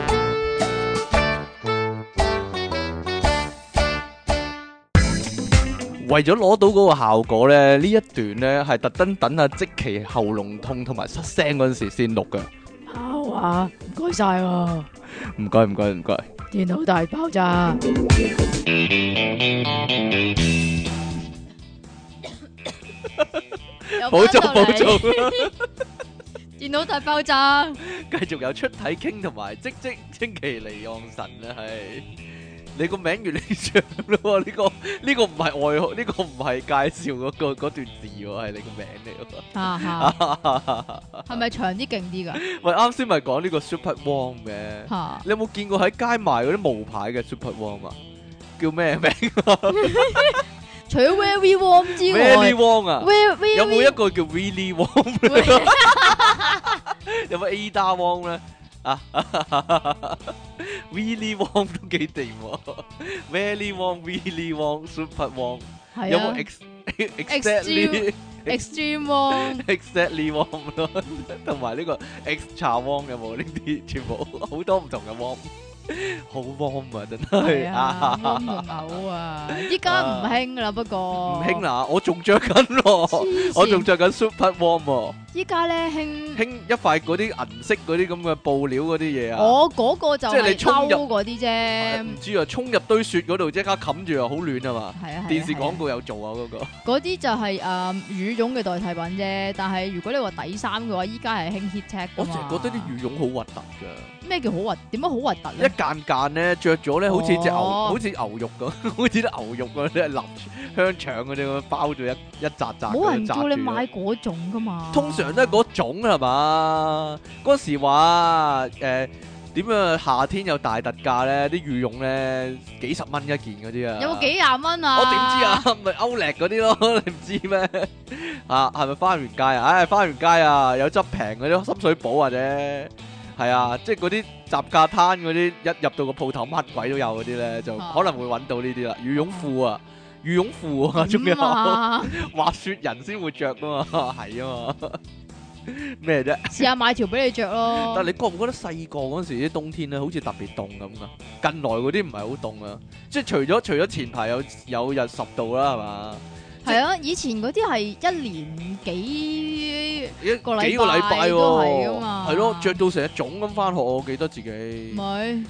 為咗攞到嗰個效果咧，呢一段咧係特登等阿積淇喉嚨痛同埋失聲嗰陣時先錄嘅。 好啊，唔該晒啊！ 唔該唔該唔該。 電腦大爆炸。 保重保重。 電腦大爆炸。 繼續有出體傾同埋積淇離岸神啊，係。你個名越嚟越長咯，呢個唔係外號，呢個唔係介紹嗰段字喎，係你個名嚟喎。 係咪長啲勁啲㗎？ 喂，啱先咪講呢個 Super Warm 嘅，你有冇見過喺街賣嗰啲無牌嘅 Super Warm 啊？叫咩名？ 除咗 Very Warm 之外 ，Very Warm 啊，有冇一個叫 Really Warm 咧？有冇 Ada Warm 咧？啊，Really Warm 都幾掂喎 ，Very Warm、Really Warm、Super Warm，有冇 Extreme Warm、 Exactly Warm 咯，同埋呢個 Extra Warm 有冇呢啲？全部好多唔同嘅 Warm，好 warm 啊，真係啊，warm 到嘔啊！依家唔興啦，不過唔興啦，我仲着緊喎，我仲着緊 Super Warm 喎。 依家咧興一塊嗰啲銀色嗰啲咁嘅布料嗰啲嘢啊！ 我嗰個就係抽入嗰啲啫， 唔知啊，衝入堆雪嗰度即刻冚住啊，好暖啊嘛！ 係啊， 電視廣告有做啊嗰個。 嗰啲就係羽絨嘅代替品啫，但係如果你話底衫嘅話，依家係興 heattech 㗎嘛。 我成日覺得啲羽絨好核突㗎。 咩叫好核？點解好核突咧？ 一間間咧着咗咧，好似隻牛，好似牛肉咁，好似啲牛肉嗰啲臘香腸嗰啲咁包咗一紮紮。 冇人叫你買嗰種㗎嘛。 通常都係嗰種係嘛？嗰時話點啊？夏天有大特價咧，啲羽絨咧幾十蚊一件嗰啲啊！ 有冇幾廿蚊啊？ 我點知啊？咪歐力嗰啲咯，你唔知咩？啊，係咪花園街啊？唉，花園街啊，有執平嗰啲深水埗或者係啊，即係嗰啲雜架攤嗰啲，一入到個鋪頭乜鬼都有嗰啲咧，就可能會揾到呢啲啦。羽絨褲啊，羽絨褲啊，仲有滑雪人先會着噶嘛，係啊嘛。咩啫？ 試下買條俾你着咯。 但係你覺唔覺得細個嗰時啲冬天咧，好似特別凍咁噶？近來嗰啲唔係好凍啊，即係除咗前排有日10度啦，係嘛？ 係啊，以前嗰啲係一年幾個禮拜都係噶嘛。 係咯，着到成日腫咁翻學，我記得自己。 咪即係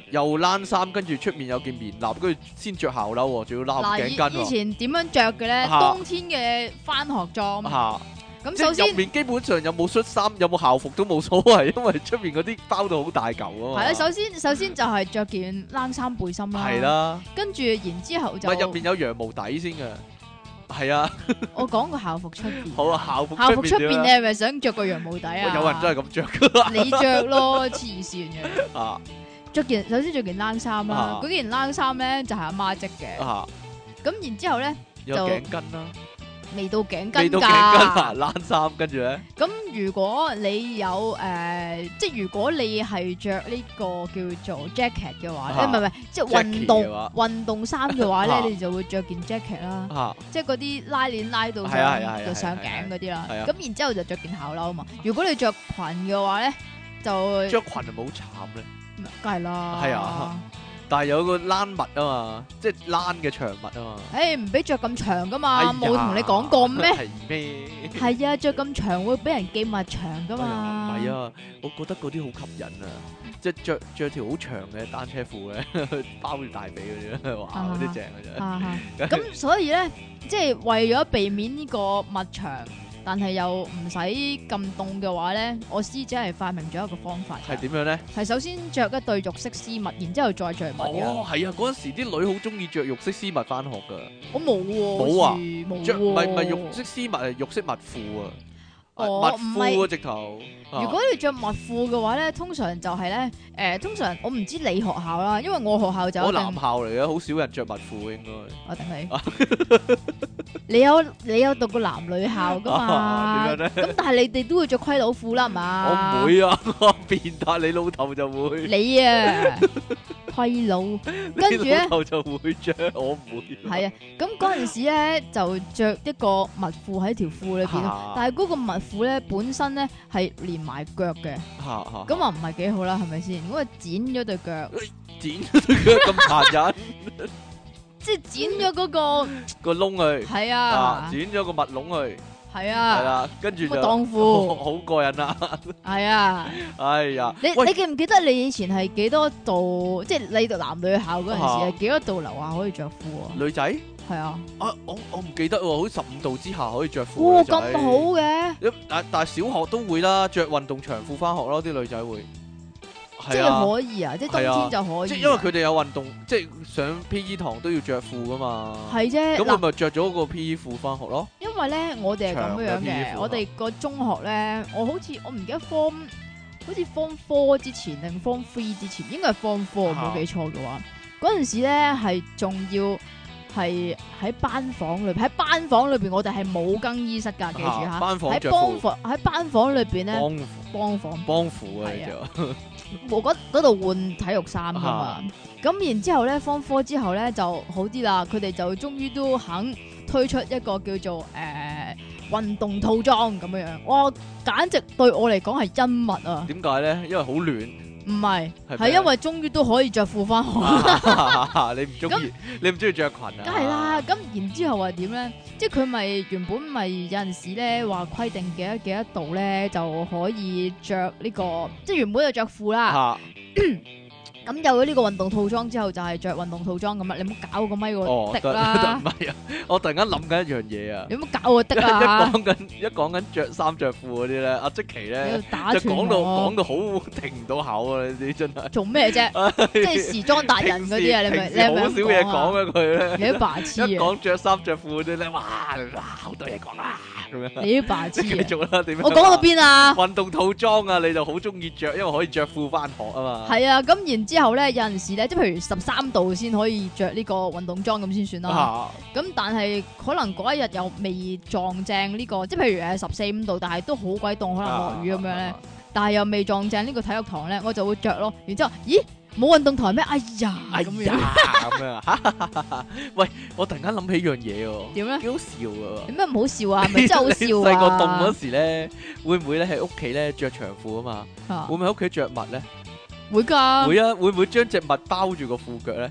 又冷衫，跟住出面有件棉褸，跟住先着校褸喎，仲要攬嗱， 頸巾喎。 以前點樣着嘅咧？ 嚇冬天嘅翻學裝。 嚇， 咁首先即係入面基本上有冇恤衫，有冇校服都冇所謂，因為出面嗰啲包到好大嚿啊嘛。 係啊，首先就係着件冷衫背心啦。 係啦， 跟住然之後就唔係入面有羊毛底先嘅。係啊， 我講個校服出邊。 好啊，校服校服出邊， 邊你係咪想着個羊毛底啊？ 有人真係咁着噶。 你着咯，黐線嘅。 啊首先着件冷衫啦啊， 嗰件冷衫咧就係阿媽織嘅。 啊， 咁然之後咧有就頸巾啦， 未到頸巾未到頸巾啊， 㗎。 冷衫，跟住咧咁如果你有即係如果你係着呢個叫做 jacket 嘅話， 啊唔係，即係 Jackie 嘅話運動衫嘅話啊咧，你就會着件 jacket 啦。 嚇即係嗰啲拉鏈拉到係啊係啊係啊上上係啊頸嗰啲啦， 係啊咁然之後就着件校褸啊嘛。如果你着裙嘅話咧，就着裙係咪好慘咧？ 梗係啦。 係啊，但係有個冷襪啊嘛，即係冷嘅長襪啊嘛。 誒唔俾着咁長噶哎嘛， 呀冇同你講過咩？ 係咩？ 係啊，着咁長會俾人記物長噶哎呀嘛。 唔係啊，我覺得嗰啲好吸引啊！即係着條好長嘅單車褲咧，包住大髀嗰啲，哇！嗰啲正嘅啊啫。 咁所以咧，即係為咗避免呢個襪長，但係又唔使咁凍嘅話咧，我師姐係發明咗一個方法㗎。 係點樣咧？ 係首先着一對肉色絲襪，然之後再着襪嘅。 哦，係啊！嗰陣時啲女好中意着肉色絲襪翻學噶， 我冇喎， 冇啊好似冇着唔係喎肉色絲襪係肉色襪褲啊， 哦襪褲啊直頭。 如果你着襪褲嘅話咧，通常就係咧，通常我唔知你學校啦，因為我學校就我一定男校嚟嘅，好少人着襪褲應該。 我等你，你有讀過男女校噶嘛？ 點樣咧咁但係你哋都會着盔佬褲啦，係嘛？ 我唔會啊，我變態，你老豆就會。 你啊，盔佬，跟住咧你老豆就會着，我唔會。 係啊，咁嗰陣時咧就着一個襪褲喺條褲裏邊咯， 啊但係嗰個襪褲咧本身咧係連埋腳嘅， 嚇咁啊唔係幾好啦，係咪先？咁啊剪咗對腳， 剪咗咁殘忍即係剪咗嗰個， 個窿去， 係啊啊， 剪咗個襪窿去，係係啊， 啦，跟住就個襠褲， 好過癮啦！ 係啊。 哎呀，喂你記唔記得你以前係幾多度？即係你讀男女校嗰陣時啊係幾多度樓下可以着褲啊？ 女仔係啊， 啊，我唔記得喎，好似15度之下可以着褲。 哇女仔咁好嘅， 但係小學都會啦，着運動長褲翻學咯，啲女仔會。 即係啊， 係可以啊，即係冬係啊天就可以啊。 即係因為佢哋有運動，即係上 P.E. 堂都要着褲噶嘛。 係啫。 咁我嗱， 咪着咗個 P.E. 褲翻學咯。 因為咧我哋係咁樣長嘅 PE 嘅， 褲我哋個中學咧，我唔記得 form，好似 form 4之前定 form 3之前，應該係 form 4， 啊冇記錯嘅話，嗰陣時咧係仲要係喺班房裏邊，我哋係冇更衣室㗎，記住嚇。 班房喺着褲， 班房裏邊咧， 幫幫房。 幫扶啊！ 係啊你就我嗰度換體育衫噶嘛，咁然之後咧，Form 4之後咧就好啲啦，佢哋就終於都肯推出一個叫做運動套裝咁樣樣，哇！簡直對我嚟講係恩物啊！ 點解咧？因為好暖。 唔係， 係係因為終於都可以着褲翻學， 你唔中意，你唔中意着裙啊？ 梗係啦。咁然之後話點咧？即係佢咪原本咪有陣時咧話規定幾多度咧就可以着呢個，即係原本就着褲啦。 嚇咁有咗呢個運動套裝之後，就係着運動套裝咁啦。你唔好搞個咪哦， 個的啦唔，係啊！我突然間諗緊一樣嘢啊！ 你唔好搞個的一啊！ 講緊着衫着褲嗰啲咧，阿積淇你咧要打就斷講到我， 好停唔到口啊！你真係做咩啫？即係時裝達人嗰啲啊！你咪平時好少嘢講啊！ 嘅佢咧， 你都白痴一啊！ 講着衫着褲嗰啲咧，哇好多嘢講啊！咁樣你都白痴你繼啊！ 續啦，點樣？ 我講到邊啊？ 運動套裝啊，你就好中意着，因為可以着褲翻學啊嘛。 係啊，咁然之後咧，有陣時咧，即係譬如13度先可以着呢個運動裝咁先算啦。 啊咁但係可能嗰一日又未撞正呢個，即係譬如14、5度，但係都好鬼凍，可能落雨咁樣咧。但係又未撞正呢個體育堂咧，我就會着咯。然之後，咦，冇運動台咩？哎呀， 哎咁樣呀，咁樣啊！喂，我突然間諗起樣嘢喎， 點咧？ 幾好笑啊！ 有咩唔好笑啊？係咪真係好笑啊？ 細個凍嗰時咧，會唔會咧喺屋企咧着長褲啊嘛？ 啊會唔會喺屋企着襪咧？ 會㗎。 會啊！會唔會將隻襪包住個褲腳咧？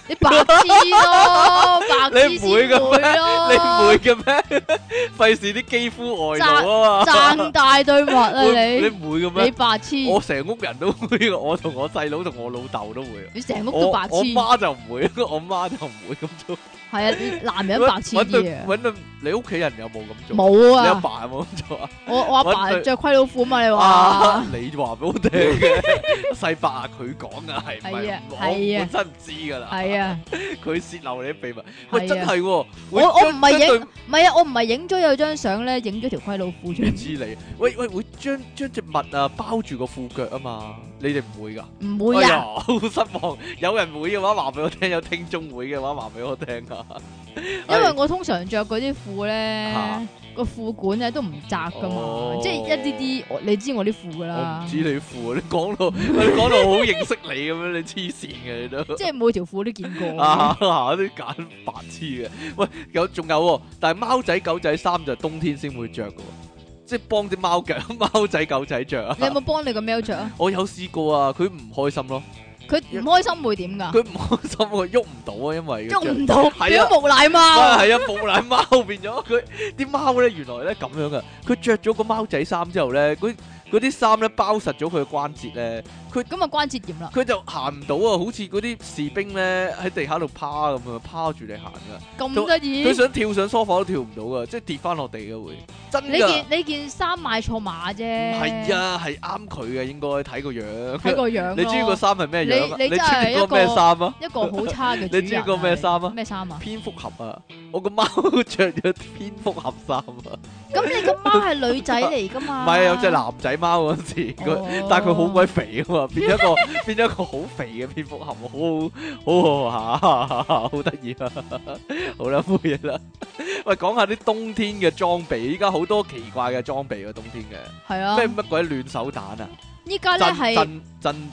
你白痴咯，白痴你唔會先嘅咩會咯， 你唔會嘅咩？費事啲肌膚外露啊嘛。 爭大對襪啊你你，你唔會嘅咩？ 白痴， 我成屋人都會，我同我細佬同我老豆都會。 你成屋我都白痴我，媽就唔會，我媽就唔會咁做。 係啊，男人白痴啲啊， 揾到你屋企人有冇咁做？ 冇你阿啊， 爸有冇咁做啊？ 我阿爸搵對着盔老褲嘛，你啊話？ 你話俾我聽嘅，細伯啊，佢講噶係唔係係啊？ 我係啊本身唔知噶啦， 係啊， 佢泄漏你啲秘密。喂， 係啊真係喎， 我會我唔係將對影，唔係啊，我唔係影咗有張相咧，影咗條盔老褲出嚟， 知你，喂，會將隻襪啊包住個褲腳啊嘛，你哋唔會噶？ 唔會啊， 哎呀，好失望。有人會嘅話話俾我聽，有聽眾會嘅話話俾我聽啊。 因為我通常着嗰啲褲咧嚇， 個褲管咧都唔窄噶哦嘛，即係一啲啲，你知我啲褲噶我啦唔，知你褲，你講到好認識你咁樣，你黐線嘅你都。 即係每條褲都見過。 啊！啲揀白痴嘅，喂，仲有喎，但係貓仔狗仔衫就冬天先會着嘅喎，即係幫啲貓仔狗仔着啊！ 你有冇幫你個喵着啊？ 我有試過啊，佢唔開心咯， 佢唔開心會點噶？ 佢唔開心喎，喐唔到啊，因為喐唔到， 係啊變咗無賴貓。 係啊，木乃貓變咗佢啲貓咧，原來咧咁樣噶，佢着咗個貓仔衫之後咧，嗰啲衫咧包實咗佢嘅關節咧， 咁啊關節炎啦。 佢就行唔到啊，好似嗰啲士兵咧喺地下度趴咁啊，趴住你行噶。 咁得意佢？想跳上梳化都跳唔到噶，即係跌翻落地嘅會，真㗎。 你件衫買錯碼啫。 係啊，係啱佢嘅，應該睇個樣。 睇個樣咯。 你知個衫係咩樣啊？ 你你知真係個咩衫啊？ 一個好差嘅主人啊。 你知個咩衫啊咩衫啊？ 蝙蝠俠啊！我個貓着咗蝙蝠俠衫啊！ 咁你個貓係女仔嚟噶嘛？ 唔係有隻男仔貓嗰陣時，但係佢好鬼肥啊嘛，變咗一個好肥嘅蝙蝠俠，好得意啊！好啦，冇嘢啦。喂，講下啲冬天嘅裝備，依家好多奇怪嘅裝備啊，冬天嘅係啊。 咩乜鬼暖手彈啊！ 依家咧係震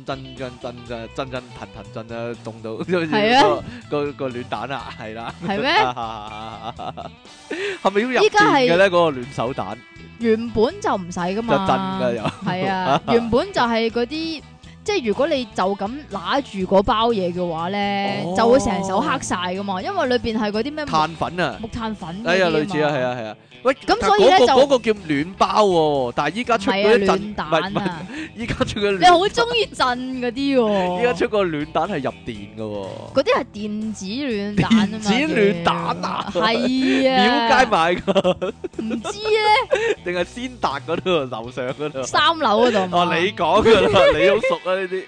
啊，凍到係啊個暖蛋啊，係啦。 係咩？ 係咪要入依家係電嘅咧？嗰個暖手彈原本就唔使噶就嘛。 震㗎又。 係啊，原本就係嗰啲。即係如果你就咁拿住嗰包嘢嘅話咧， 哦就會成手黑晒噶嘛，因為裏邊係嗰啲咩碳粉啊！ 木炭粉嗰哎呀， 啲類似啊，係啊，係啊。喂， 咁但所以呢就嗰個叫暖包喎，但係依家出嗰啲震暖蛋唔係啊！ 依家出嘅你好中意震嗰啲喎， 依家出個暖蛋係入電嘅喎。 嗰啲係電子暖蛋啊嘛， 電子暖蛋啊係啊， 廟街買㗎， 唔知咧， 定係先達嗰度樓上嗰度？ 3樓嗰度嘛。 哦，你講㗎啦，你好熟啊呢啲。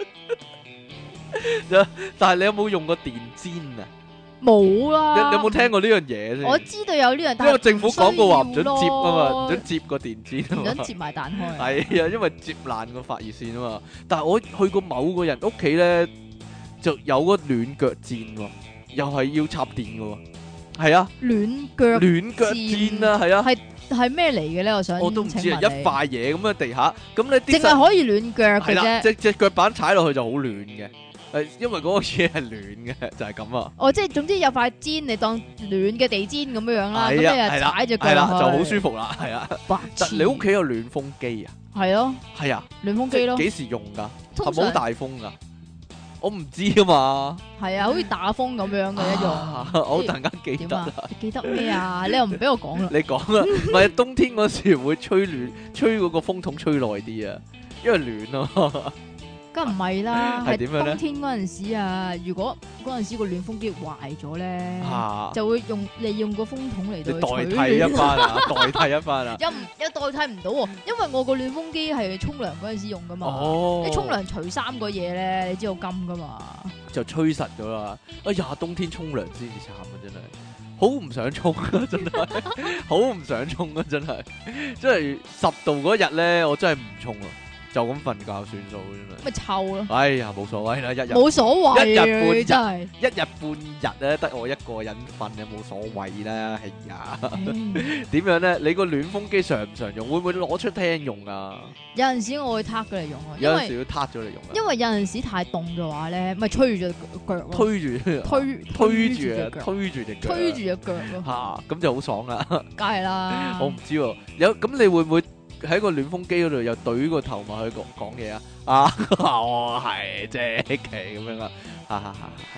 但係你有冇用過電氈啊？ 冇啦。 你有冇聽過呢樣嘢先？ 我知道有呢樣，但係因為政府講過話唔准接啊嘛，唔唔准接個電氈啊嘛。 唔准接埋蛋開。 係啊，因為接爛個發熱線啊嘛。但係我去過某個人屋企咧，就有個暖腳墊喎，又係要插電嘅喎。係啊， 暖腳暖腳墊啊，係啊， 係咩嚟嘅咧？我想我都唔知啊， 請問你一塊嘢咁喺地下，咁你啲淨係可以暖腳嘅係啦， 啫。 隻腳板踩落去就好暖嘅。因為嗰個嘢係暖嘅，就係咁啊。 哦，即係總之有塊氈，你當暖嘅地氈咁樣樣啦，咁你係啊，係就啦， 踩隻腳落係啦，就去好舒服啦，係啊。 白痴你屋企有暖風機啊？ 係咯， 係啊， 暖風機咯， 幾時用㗎？ 通常係咪好大風㗎？我唔知啊嘛。 係啊，好似打風咁樣嘅一啊種。 我突然間記得點啊啦。？ 你記得咩啊？你又唔俾我講啦。 你講啊，唔係冬天嗰時會吹嗰個風筒吹耐啲啊，因為暖啊。 梗唔係啦，係係點樣咧冬天嗰陣時啊，如果嗰陣時個暖風機壞咗咧， 嚇， 就會利用個風筒嚟你到代去取暖。 替一番啊，代替一番啊。 又代替唔到喎，因為我個暖風機係沖涼嗰陣時用噶嘛。 哦， 你沖涼除衫嗰嘢咧，你知道金噶嘛？ 就吹實咗啦。哎呀，冬天沖涼先至慘啊，真係好唔想沖啊，真係好唔想沖啊，真係。真係10度嗰日咧，我真係唔沖啊，就咁瞓覺算數真係。 咪臭咯， 哎呀，冇所謂啦， 冇所謂一日半日嘅真係。 一日半日咧，得我一個人瞓，有冇所謂啦？係呀，點樣咧？你個暖風機常唔常用？會唔會攞出廳用啊？ 有陣時我會撻佢嚟用啊，因為有陣時要撻咗嚟用啊， 因為有陣時太凍嘅話咧，咪吹住隻腳咯， 推住推住啊， 隻腳， 推住隻腳， 推住隻腳咯， 嚇，咁就好爽啦！ 梗係啦。 我唔知喎，咁你會唔會喺個暖風機嗰度又懟個頭埋去講嘢啊？啊，我係積淇咁樣啊！哈哈哈哈哈！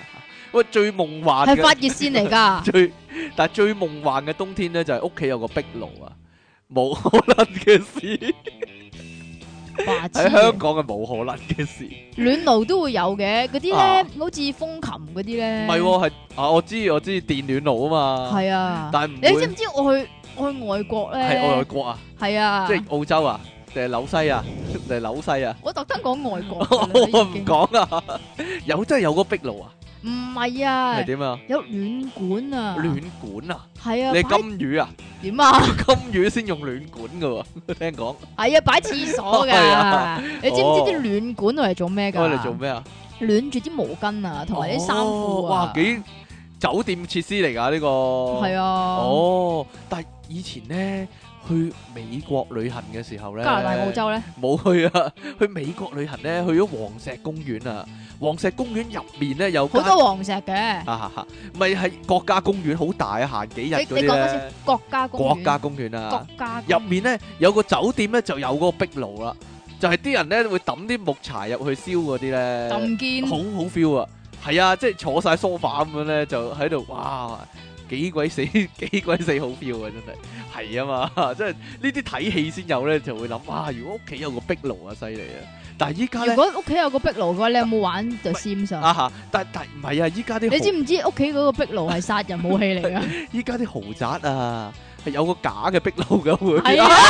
喂，最夢幻係發嘅熱線嚟㗎。 但係最夢幻嘅冬天咧，就係屋企有個壁爐啊，冇可能嘅事。 白痴喺香港係冇可能嘅事。 暖爐都會有嘅，嗰啲咧啊好似風琴嗰啲咧。 唔係喎，係啊，我知電暖爐啊嘛。 係啊， 但係唔會你知唔知我去外國咧？ 係外國啊， 係啊， 即係澳洲啊，定係紐西啊，定係紐西啊？ 我特登講外國我㗎啦。 唔講啊，真係有個壁爐啊？ 唔係啊係，點啊？ 有暖管啊。 暖管啊？ 係啊， 你係擺金魚啊？ 點啊？ 金魚先用暖管噶喎，聽講。 係啊，擺廁所係啊㗎。你知唔知啲暖管係做咩㗎？ 我嚟做咩啊？ 暖住啲毛巾啊，同埋啲衫褲啊。 哇，幾酒店設施嚟㗎呢個。 係啊。 哦，但係以前咧去美國旅行嘅時候咧， 加拿大、澳洲咧， 冇去啊。去美國旅行咧，去咗黃石公園啊。黃石公園入面咧有好多黃石嘅。 咪係國家公園，好大啊，行幾日嗰啲你講嗰次咧。 國家公園。 國家公園啊國，家公園入面咧有個酒店咧就有嗰個壁爐啦，就係啲人咧會抌啲木柴入去燒嗰啲咧， 咁堅。 好 feel 啊！係啊，即係坐晒 sofa 咁樣咧，就喺度哇，幾鬼死好 feel 啊！真係係啊嘛，即係呢啲睇戲先有咧，就會諗哇，如果屋企有個壁爐啊，犀利啊！但係依家咧如果屋企有個壁爐嘅話，你有冇玩 The Sims 啊？ 啊，但唔係啊，依家啲你知唔知屋企嗰個壁爐係殺人武器嚟噶？ 依家啲豪宅啊，係有個假嘅壁爐嘅會。 係啊，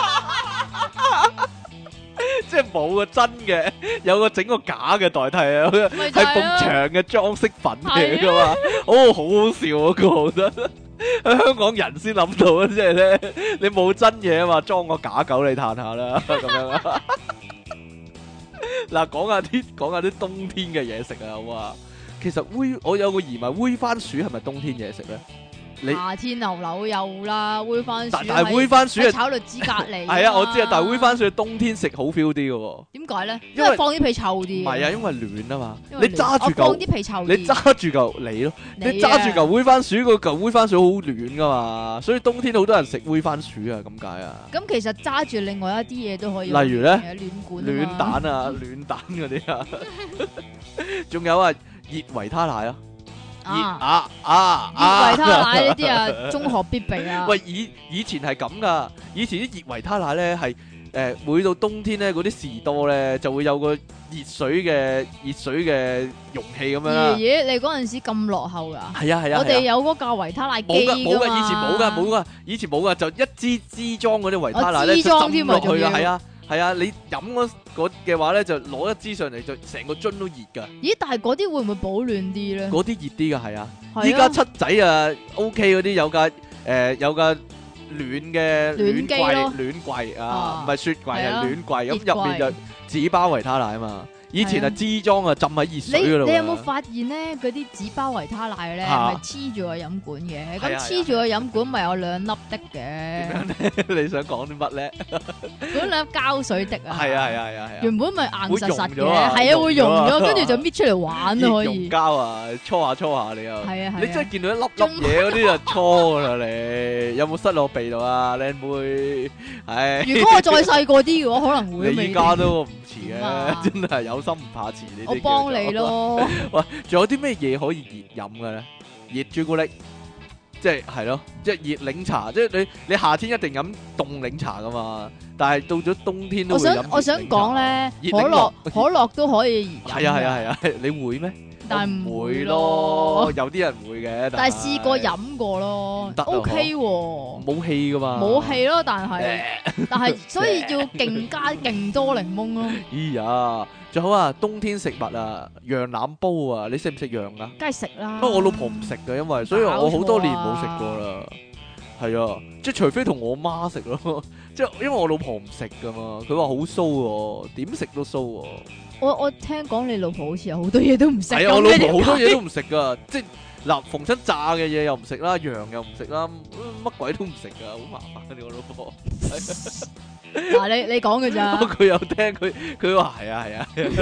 即係冇個真嘅，有個整個假嘅代替啊， 咪就係埲係咯牆嘅裝飾品嚟噶嘛，哦，好好笑啊！我覺得喺香港人先諗到啊，即係咧，你冇真嘢啊嘛，裝個假狗你嘆下啦，咁樣啊。嗱，講下啲冬天嘅嘢食啊，好啊。其實我有個疑問，煨番薯係咪冬天嘢食咧？你夏天牛柳有啦，煨番薯但係煨番薯係喺炒栗子隔離。 係啊，我知啊，但係煨番薯冬天食好 feel 啲嘅喎。 點解咧？ 因為因為放啲皮臭啲。 唔係啊，因為暖啊嘛。 因為你揸住我放嚿， 啲皮臭啲。 你揸住嚿你咯，你揸住嚿煨番薯，個嚿煨番薯好暖噶嘛，所以冬天好多人食煨番薯啊，咁解啊。 咁其實揸住另外一啲嘢都可以。 例如咧暖管啊嘛暖蛋啊，暖蛋嗰啲啊，仲有啊，熱維他奶啊，熱熱維他奶呢啲啊，中學必備啊。 喂，以前係咁噶，以前啲熱維他奶咧係每到冬天咧，嗰啲士多咧就會有個熱水嘅容器咁樣啦。 爺爺，你嗰陣時咁落後噶？ 係啊係啊， 我哋有嗰架維他奶機冇噶， 嘛以前冇噶，就一支裝嗰啲維他奶咧， 支就浸裝添啊落去噶， 仲要係啊，你飲嗰嘅話咧，就攞一支上嚟，就成個樽都熱噶， 咦？但係嗰啲會唔會保暖啲咧？ 嗰啲熱啲噶，係啊。 係啊依家七仔啊 OK 嗰啲有架暖嘅暖機咯暖櫃啊，唔係雪櫃，係係啊暖櫃， 熱咁入面就紙包維他奶啊嘛。以前係支裝啊，浸喺熱水嗰度啊。 你有冇發現咧？嗰啲紙包維他奶咧， 啊咪黐住個飲管嘅？ 係啊咁黐住個飲管咪有兩粒的嘅， 你想講啲乜咧？ 嗰兩粒膠水的啊。 係啊， 原本咪硬實實嘅， 會溶咗啊係啊，會溶咗， 溶咗啊跟住就搣出嚟玩咯，可熱溶以。 膠啊，搓下你又。 係啊， 你真係見到一粒粒嘢嗰啲就搓噶啦你，有冇塞落鼻度啊，靚妹？唉， 如果我再細個啲嘅話，可能會。 你依家都唔遲點啊嘅，真係有心唔怕遲。呢啲我幫你叫做。 咯。 喂，仲有啲咩嘢可以熱飲嘅咧？熱朱古力，即係咯，即係熱檸茶，即係你夏天一定飲凍檸茶噶嘛，但係到咗冬天都會飲熱檸茶。 我想講咧， 熱可檸樂可樂都可以熱飲。 係啊，你會咩？ 但係唔會唔會咯咯， 有啲人會嘅， 但係試過飲過咯得啊 ，OK 喎， 冇氣噶嘛， 冇氣咯，但係所以要勁加勁多檸檬咯， 哎呀，仲好啊，冬天食物啊，羊腩煲啊，你食唔食羊啊？ 梗係食啦。 不過我老婆唔食嘅，因為所以我好多年冇食過啦。係啊，即係除非同我媽食咯，即係因為我老婆唔食噶嘛，佢話好騷喎，點食都騷喎。 我聽講你老婆好似有好多嘢都唔食。 係啊，我老婆好多嘢都唔食噶，即係嗱，逢親炸嘅嘢又唔食啦，羊又唔食啦，乜鬼都唔食噶，好麻煩你我老婆。 嗱，你講嘅咋？ 佢有聽佢話係啊，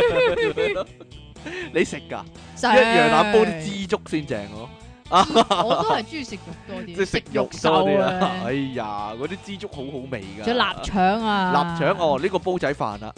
你食噶？ 食一羊腩煲啲枝竹先正咯。 我都係中意食肉多啲， 即係食肉多啲啊！哎呀，嗰啲枝竹好好味噶。 仲有臘腸啊！ 臘腸哦，呢個煲仔飯啦，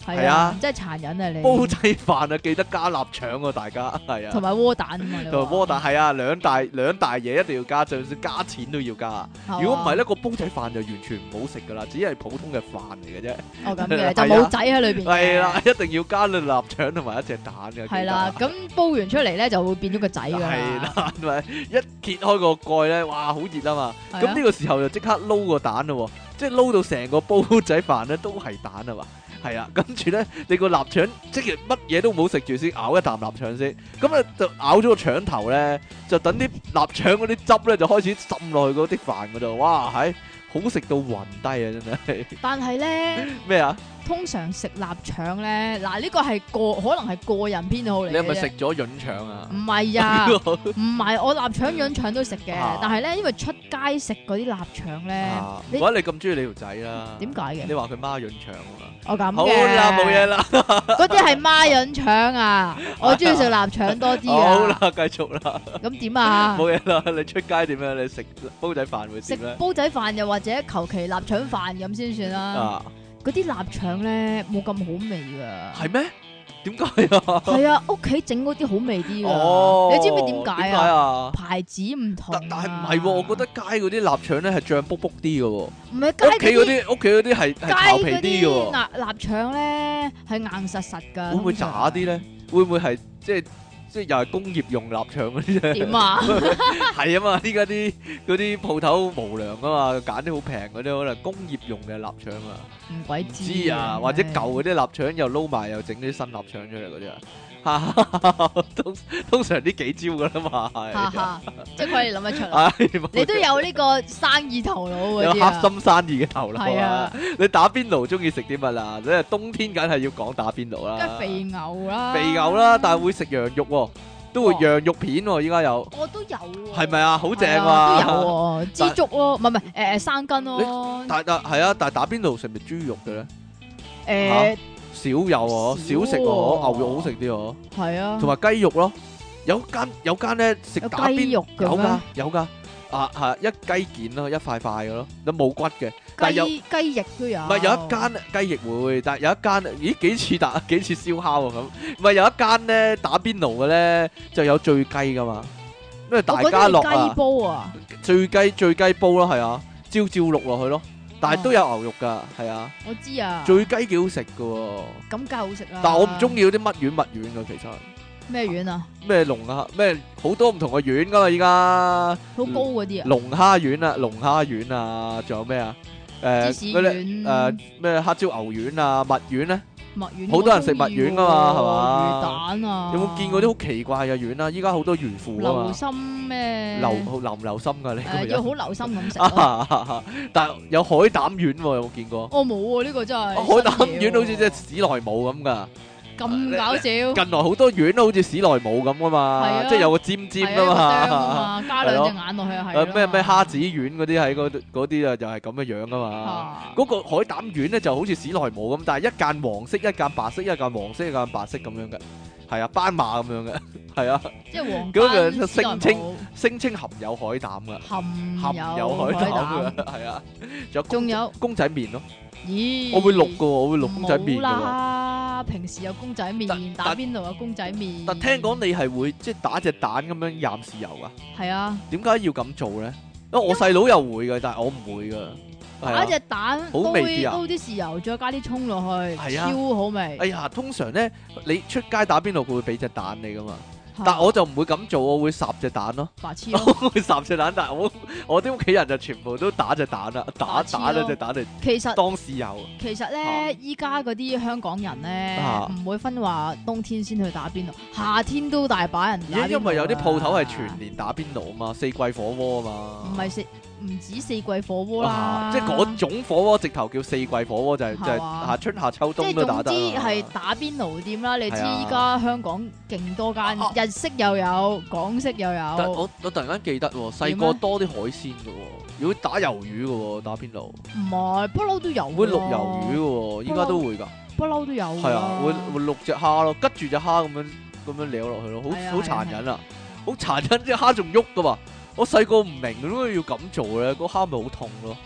係啊，真係殘忍啊你。 煲仔飯啊，記得加臘腸啊，大家係啊。 同埋窩蛋啊嘛，你話同埋窩蛋係啊，兩大嘢一定要加，就算加錢都要加。如果唔係咧，個煲仔飯就完全唔好食噶啦，只係普通嘅飯嚟嘅啫。 哦咁嘅，就冇仔喺裏邊嘅。 係啦，一定要加啲臘腸同埋一隻蛋嘅。 係啦，咁煲完出嚟咧就會變咗個仔㗎啦。 係啦，同埋一揭開個蓋咧，哇，好熱啊嘛。 係啊咁呢個時候就即刻撈個蛋咯，即係撈到成個煲仔飯咧都係蛋啊嘛。係啊，跟住咧，你個臘腸即係乜嘢都唔好食住先，咬一啖臘腸先。咁啊就咬咗個腸頭咧，就等啲臘腸嗰啲汁咧就開始滲落去嗰啲飯嗰度。哇，係好食到暈低啊！真係。 但係咧， 咩啊？ 通常食臘腸咧，嗱呢個係可能係個人偏好嚟嘅啫。 你係咪食咗潤腸啊？ 唔係啊，唔係我臘腸潤腸都食嘅，但係咧因為出街食嗰啲臘腸咧， 唔怪得你咁中意你條仔啦。 點解嘅？ 你話佢孖潤腸啊嘛。 我咁嘅。 好啦，冇嘢啦。 嗰啲係孖潤腸啊，我中意食臘腸多啲啊。 好啦，繼續啦。 咁點啊？ 冇嘢啦，你出街點樣？你食煲仔飯會食點咧？ 煲仔飯又或者求其臘腸飯咁先算啦。嗰啲臘腸咧冇咁好味噶。 係咩？點解啊？ 係啊，屋企整嗰啲好味啲噶。 哦， 你知唔知點解啊？ 牌子唔同。 但係唔係喎，我覺得街嗰啲臘腸咧係醬卜卜啲嘅喎。 唔係街屋企嗰啲係刨皮啲嘅喎。 臘腸咧係硬實實㗎。 會唔會渣啲咧？會唔會係即係又係工業用臘腸嗰啲啫？ 點啊？ 係啊嘛，依家啲嗰啲鋪頭無良啊嘛，揀啲好平嗰啲可能工業用嘅臘腸啊。 唔鬼知啊，或者舊嗰啲臘腸又撈埋又整啲新臘腸出嚟嗰啲啊，通常呢幾招噶啦嘛，係， 即係佢哋諗得出啊！你都有呢個生意頭腦嗰啲啊， 有黑心生意嘅頭腦係啊！ 你打邊爐中意食啲乜啊？你係冬天梗係要講打邊爐啦， 梗係肥牛啦， 肥牛啦，但係會食羊肉喎，都會羊肉片喎，依家有， 我都有喎， 係咪啊？好正啊！ 都有喎，豬足咯，唔係生筋咯， 但係但係打邊爐食咪豬肉嘅咧？少有喎，少食喎，牛肉好食啲喎， 係啊， 同埋雞肉咯，有間咧食打邊肉有㗎，啊係一雞件咯，一塊塊嘅咯，都冇骨嘅，但係有雞翼都有， 唔係有一間雞翼會，但係有一間咦幾似燒烤啊咁，唔係有一間咧打邊爐嘅咧就有醉雞㗎嘛，因為大家樂啊， 雞煲啊， 醉雞煲咯，係啊，照淥落去咯。但係都有牛肉㗎，係啊！ 我知啊， 醉雞幾好食㗎喎， 咁梗係好食啦。 但係我唔中意嗰啲乜丸乜丸㗎，其實咩丸啊？ 咩龍啊？咩好多唔同嘅丸㗎嘛？依家好高嗰啲啊？ 龍蝦丸啊，龍蝦丸啊，仲有咩啊？ 芝士丸咩黑椒牛丸啊，蜜丸咧？ 蜜丸好多人食蜜丸㗎嘛，係嘛？ 魚蛋啊！ 有冇見過啲好奇怪嘅丸啊？依家好多魚腐啊嘛。 留心咩？ 留唔留心㗎？你要好留心咁食。 但係有海膽丸喎，有冇見過？ 我冇喎，呢個真係。 海膽丸好似即係史萊姆咁㗎。 咁搞笑！近來好多丸都好似史萊姆咁㗎嘛，即係有個尖尖㗎嘛， 加兩隻眼落去係。 咩蝦子丸嗰啲喺嗰啲啊，就係咁嘅樣㗎嘛。嗰個海膽丸咧就好似史萊姆咁，但係一間黃色，一間白色，一間黃色，一間白色咁樣嘅，係啊，斑馬咁樣嘅，係啊。 即係黃。 嗰個聲稱含有海膽㗎，含有海膽㗎，係啊。仲有公仔麵咯。咦！我會錄㗎喎，我會錄公仔麵㗎喎。冇啦，平時有公仔麵，打邊爐有公仔麵。 但聽講你係會即係打隻蛋咁樣蘸豉油㗎？係啊。點解要咁做咧？因為我細佬又會㗎，但係我唔會㗎。 打隻蛋好味啲啊！ 撈啲豉油，再加啲葱落去，超好味。 哎呀，通常咧你出街打邊爐，佢會俾隻蛋你㗎嘛。但我就唔會咁做，我會烚隻蛋咯。 白痴咯！我會烚隻蛋，但係我啲屋企人就全部都打隻蛋啦，打咗隻蛋嚟。 其實當豉油。其實咧，依家嗰啲香港人咧，唔會分話冬天先去打邊爐，夏天都大把人打邊爐。 因為有啲鋪頭係全年打邊爐啊嘛，四季火鍋啊嘛。 唔止四季火鍋啦， 即係嗰種火鍋直頭叫四季火鍋，就係春夏秋冬都打得。 即係總之係打邊爐店啦，你知依家香港勁多間，日式又有，港式又有。 我突然間記得喎，細個多啲海鮮嘅喎，如果打魷魚嘅喎，打邊爐。唔係， 不嬲都有。 會淥魷魚嘅喎，依家都會㗎。 不嬲都有。 係啊，會淥隻蝦咯，拮住隻蝦咁樣撩落去咯，好殘忍啊！好殘忍，隻蝦仲喐㗎嘛〜我細個唔明點解要咁做咧，個蝦咪好痛咯。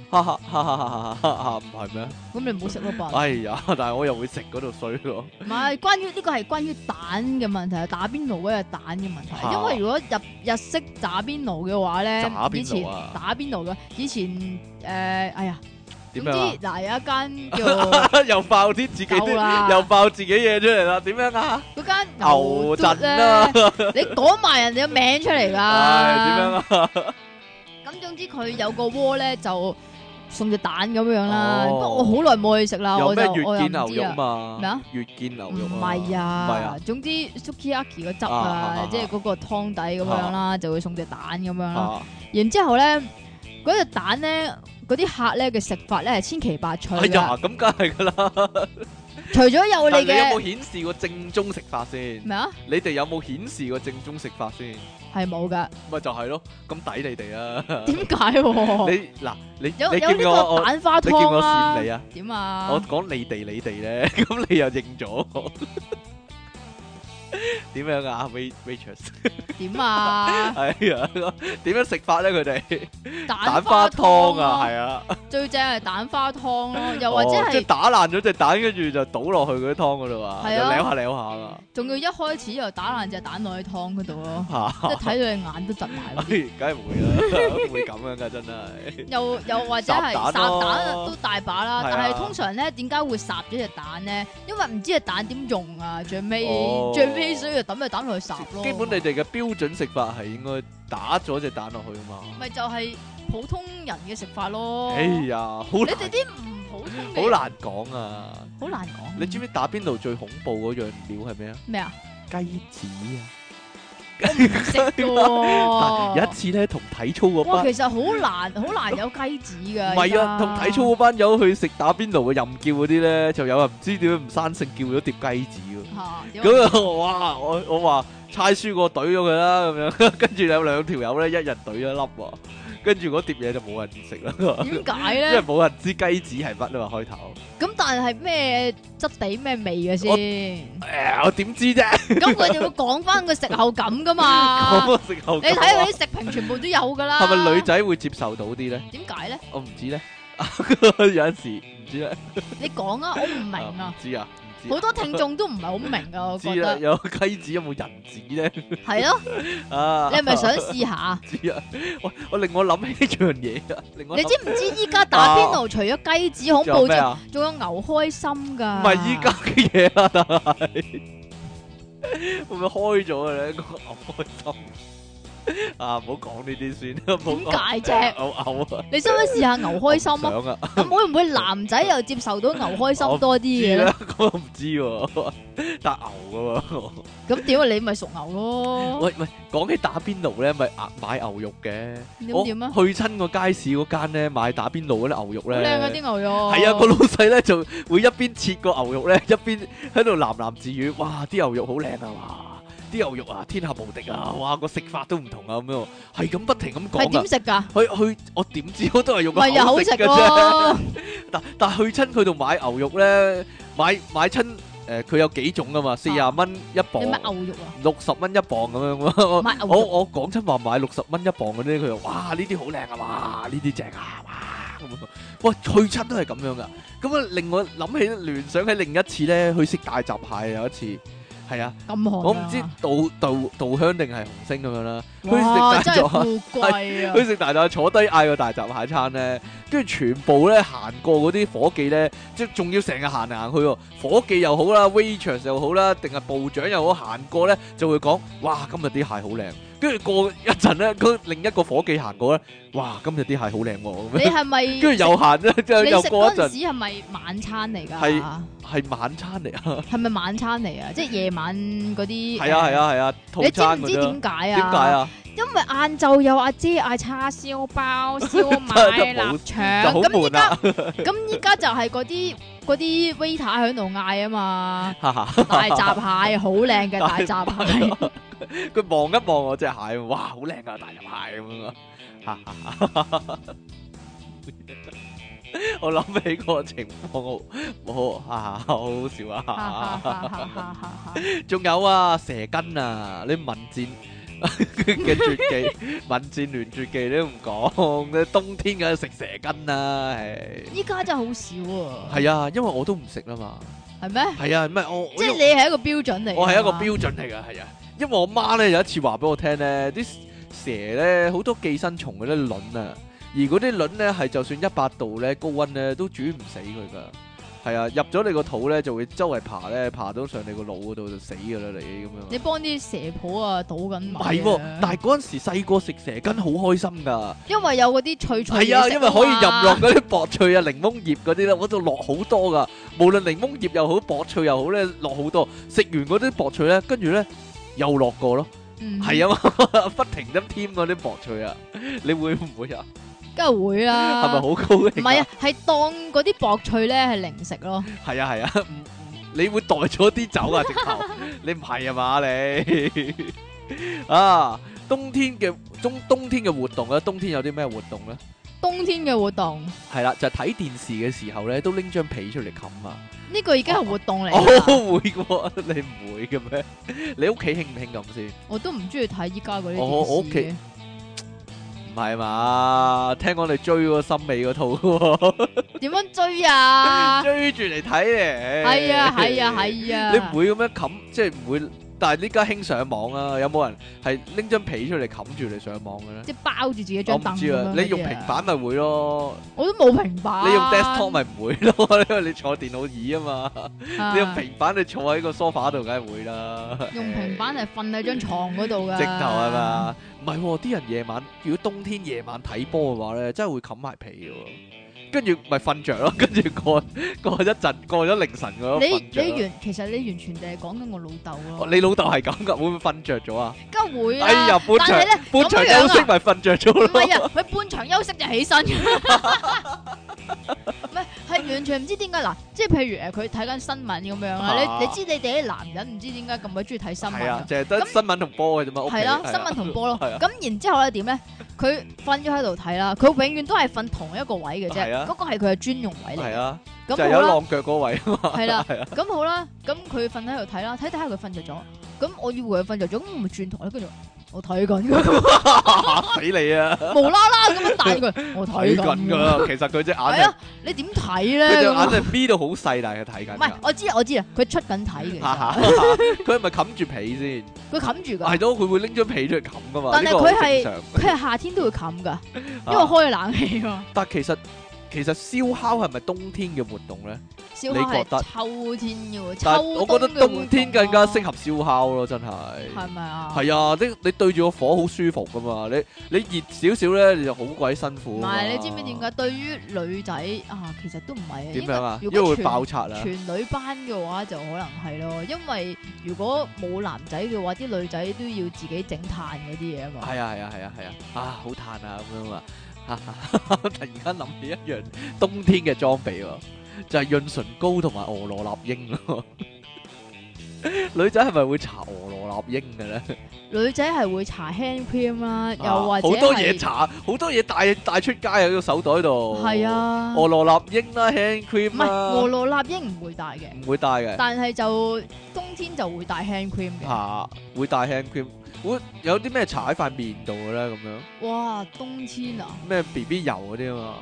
哈哈哈哈哈，唔係咩？ 咁你唔好食咯吧。 哎呀，但係我又會食嗰度衰咯。 唔係，呢個係關於蛋嘅問題，打邊爐嗰個蛋嘅問題。 嚇因為如果日式打邊爐嘅話咧打，邊以前爐啊打邊爐嘅，以前哎呀，總之點樣啊？ 嗱有一間叫又爆啲自己夠啦啲，又爆自己嘢出嚟啦。點樣啊？ 嗰間牛燉陣啊！ 你講埋人哋嘅名出嚟㗎。 唉，點樣啊？ 咁總之佢有個鍋咧就送隻蛋咁樣啦。 哦不過我好耐冇去食啦， 有咩我又月見牛肉唔知啊。 嘛？ 咩啊？ 月見牛肉唔啊？ 係唔係啊，， 啊總之 sukiyaki 個汁啊，即係嗰個湯底咁樣啦，就會送隻蛋咁樣啦。 啊然之後咧，嗰隻蛋咧，嗰啲客咧嘅食法咧係千奇百趣㗎。 哎呀，咁梗係噶啦。 除咗有但係你嘅你有冇顯示過正宗食法先？ 咩啊， 你哋有冇顯示過正宗食法先？ 係冇㗎。 咪就係咯，咁抵你哋啊！ 點解喎？ 你嗱，你有你見呢我個蛋花你見我湯啦跣。你啊？ 點啊？ 我講你哋咧，咁你又認咗我？點樣啊，waitress？ 點啊？ 哎呀，點樣食法咧？佢哋蛋蛋花湯啊，係啊， 最正係蛋花湯咯，又或者即係係打爛咗隻蛋，跟住就倒落去嗰啲湯嗰度啊，就係啊撩下撩下啊， 仲要一開始就打爛隻蛋落去湯嗰度咯， 嚇即係睇到你眼都窒埋嗰啲。 梗係會啦，會咁樣噶真係。 又或者係烚蛋烚咯蛋都大把啦， 係啊但係通常咧點解會烚咗隻蛋咧？因為唔知隻蛋點用啊，最哦尾所以就抌隻蛋落去烚咯。 基本你哋嘅標準食法係應該打咗隻蛋落去啊嘛。 咪就係普通人嘅食法咯。 哎呀，好你難哋啲唔普通嘅好難講啊！ 好難講。 你知唔知打邊爐最恐怖嗰樣料係咩啊？ 咩啊？ 雞子啊！ 我唔識嘅喎。 有一次咧，同體操嗰哇， 班其實好難有雞子㗎。 唔係啊，同體操嗰班友去食打邊爐嘅任叫嗰啲咧，就有人唔知點解唔生性叫咗碟雞子喎。 嚇點啊咁啊，哇！我話猜輸過懟咗佢啦，咁樣跟住有兩條友咧，一人懟咗一粒喎，跟住嗰碟嘢就冇人食啦， 點解因為咧？ 冇人知雞子係乜啊嘛開頭。 咁但係咩質地咩味嘅先？ 我點知啫？ 咁佢哋會講翻個食後感噶嘛？ 咁我食後你睇嗰啲食評全部都有噶啦。 係咪女仔會接受到啲咧？ 點解咧？ 我唔知咧，有陣時唔知咧。 你講啊，我唔明唔啊。 知啊，唔知啊。 好多聽眾都唔係好明啊，我知啦， 覺得有雞子有冇人子咧？ 係咯。 啊， 你係咪想試下？ 知啊？我令我諗起一樣嘢啊！令我諗你知唔知依家打邊爐除咗雞子恐怖之外， 仲有咩啊？ 仲有牛開心噶？ 唔係依家嘅嘢啦，但係會唔會開咗嘅咧？個牛開心啊！唔好講呢啲先，唔好講點解啫？ 牛啊！ 你想唔想試下牛開心啊？ 想啊！ 咁會唔會男仔又接受到牛開心多啲嘅咧知啦？，我唔知喎，打牛噶喎。 咁點啊？你咪屬牛咯。 喂，講起打邊爐咧，咪買牛肉嘅。 咁點啊？ 去親個街市嗰間咧，買打邊爐嗰啲牛肉好靚啊！ 咧， 啲牛肉。 係啊，個老細咧就會一邊切個牛肉咧，一邊喺度喃喃自語：哇！啲牛肉好靚啊！哇！啲牛肉啊，天下無敵啊！哇！個食法都唔同啊，咁樣係咁不停咁講啊係點。食㗎？ 我點知我都係用個咪又好食口食嘅啫。 喎。 但係去親佢度買牛肉咧，買親佢有幾種噶嘛，40蚊一磅你。買牛肉啊？ 60蚊一磅咁樣喎， 買牛肉我講親話買60蚊一磅嗰啲，佢話哇呢啲好靚啊，哇呢啲正啊，哇咁啊，哇去親都係咁樣噶，咁啊令我諗起聯想起另一次咧，去食大閘蟹有一次，係啊， 咁寒啊。 我唔知稻香定係紅星咁樣啦，去食哇！ 大真係閘蟹。 富貴啊！ 去食大閘蟹坐低嗌個大閘蟹餐咧，跟住全部咧行過嗰啲伙計咧，即係仲要成日行嚟行去喎。伙計又好啦，waitress 又好啦，定係部長又好，行過咧就會講：哇，今日啲蟹好靚。跟住過一陣咧，另一個伙計行過咧，哇，今日啲蟹好靚喎。咁樣你係咪？ 跟住又行咧，之後你食又過一陣， 嗰陣時係咪晚餐嚟㗎？ 係晚餐嚟啊！ 係咪晚餐嚟啊？即係夜晚嗰啲。 係啊，套你知餐嗰啲。 唔知點解啊？ 點解？啊？ 因為晏晝有阿姐嗌叉燒包、燒賣、臘就好腸，咁依家悶啊！ 咁依家就係嗰啲 waiter 喺度嗌啊嘛， 哈哈大閘蟹好靚嘅大閘蟹， 佢望一望我隻蟹，哇，好靚啊，大閘蟹咁樣啊！我諗起個情況，好好笑啊！仲有啊，蛇羹啊，你民戰嘅絕技，民戰聯絕技你都唔講，冬天梗係食蛇羹啦，係。 依家真係好少啊。 係啊，因為我都唔食啦嘛。 係咩？ 係啊，唔係我即係你係一個標準嚟。 我係一個標準嚟㗎，係啊。因為我媽咧有一次話俾我聽咧，啲蛇咧好多寄生蟲嗰啲卵啊，而嗰啲卵咧係就算100度咧高溫咧都煮唔死佢㗎。係啊，入咗你個肚咧就會周圍爬咧，爬到上你個腦嗰度就死㗎啦，你咁樣。 你幫啲蛇婆啊倒緊米。 唔係喎，但係嗰陣時細個食蛇羹好開心㗎。 因為有嗰啲脆脆嘢食係啊，因為可以任落嗰啲薄脆啊、檸檬葉嗰啲咧，嗰度落好多㗎。無論檸檬葉又好、薄脆又好咧，落好多。食完嗰啲薄脆咧，跟住咧又落過咯。係啊嘛，不停咁添嗰啲薄脆啊，你會唔會啊？ 梗係會啦。 係咪好高興？ 唔係啊，係當嗰啲薄脆咧係零食咯。 係啊係啊，你會袋咗啲走啊直頭，你唔係啊嘛你啊？冬天嘅活動啊，冬天有啲咩活動咧？ 冬天嘅活動係啦，就係睇電視嘅時候咧，都拎張被出嚟冚啊！ 呢個已經係活動嚟。 我會嘅，你唔會嘅咩？你屋企興唔興咁先？ 我都唔中意睇依家嗰啲我屋企電視嘅。 唔係嘛？聽講你追嗰個森美嗰套喎， 點樣追啊？ 追住嚟睇咧。 係啊係啊係啊！ 你唔會咁樣冚，即係唔會。但係呢家興上網啊，有冇人係拎張被出嚟冚住嚟上網嘅咧？ 即係包住自己我張凳唔知啊，你用平板咪會咯， 我都冇平板。 你用 desktop 咪唔會咯，因為你坐電腦椅啊嘛。 啊你用平板你坐喺個 sofa 度，梗係會啦。 用平板係瞓喺張床嗰度噶。 直頭係嘛？唔係喎，啲人夜晚如果冬天夜晚睇波嘅話咧，真係會冚埋被嘅喎。跟住咪瞓着咯，跟住過一陣，過咗凌晨嗰個瞓着。 其實你完全地係講緊我老豆咯。 你老豆係咁噶，會唔會瞓着咗啊？ 梗係會啦。 哎呀，半場休息咪瞓着咗咯。 唔係啊，佢半場休息就起身。唔係，係完全唔知點解嗱，即係譬如佢睇緊新聞咁樣啦，你知你哋啲男人唔知點解咁鬼中意睇新聞。 係啊，淨係得新聞同波嘅啫嘛。 係啦，新聞同波咯。 係啊。 咁然之後咧點咧？佢瞓咗喺度睇啦，佢永遠都係瞓同一個位嘅啫。嗰個係佢嘅專用位嚟。 係啊， 咁就係有浪腳嗰位啊嘛。 係啦，咁好啦，咁佢瞓喺度睇啦，睇下佢瞓着咗。咁我以為佢瞓着咗，咁我咪轉台，跟住我睇緊嚇死你啊！ 無啦啦咁樣帶佢，我睇緊㗎。其實佢隻眼係啊，你點睇咧？ 佢隻眼係 B 到好細，但係佢睇緊。 唔係，我知啊，佢出緊睇嘅。 佢係咪冚住被先？ 佢冚住㗎。 係咯，佢會拎張被出嚟冚㗎嘛。 但係佢係夏天都會冚㗎，因為開冷氣喎。 但其實燒烤係咪冬天嘅活動咧？ 燒烤係秋天嘅喎， 但係我覺得冬天更加適合燒烤咯，真係。 係咪啊？ 係啊，你對住個火好舒服噶嘛，你熱少少咧，你就好鬼辛苦。 唔係，你知唔知點解？對於女仔啊，其實都唔係。 點樣啊？ 因為會爆拆啊！ 全女班嘅話就可能係咯，因為如果冇男仔嘅話，啲女仔都要自己整炭嗰啲嘢啊嘛。 係啊，好炭啊咁樣啊！突然間諗起一樣冬天嘅裝備喎，就係潤唇膏同埋俄羅納英咯。女仔係咪會搽俄羅納英嘅咧？ 女仔係會搽 hand cream 啦，又或者好多嘢搽，好多嘢帶出街喺個手袋度。 係啊， 俄羅納英啦，hand cream 啦。 唔係俄羅納英唔會帶嘅， 唔會帶嘅。 但係就冬天就會帶 hand cream 嘅。 嚇，會帶 hand cream。會有啲咩搽喺塊面度嘅咧？咁樣哇，冬天啊！ 咩 BB 油嗰啲啊嘛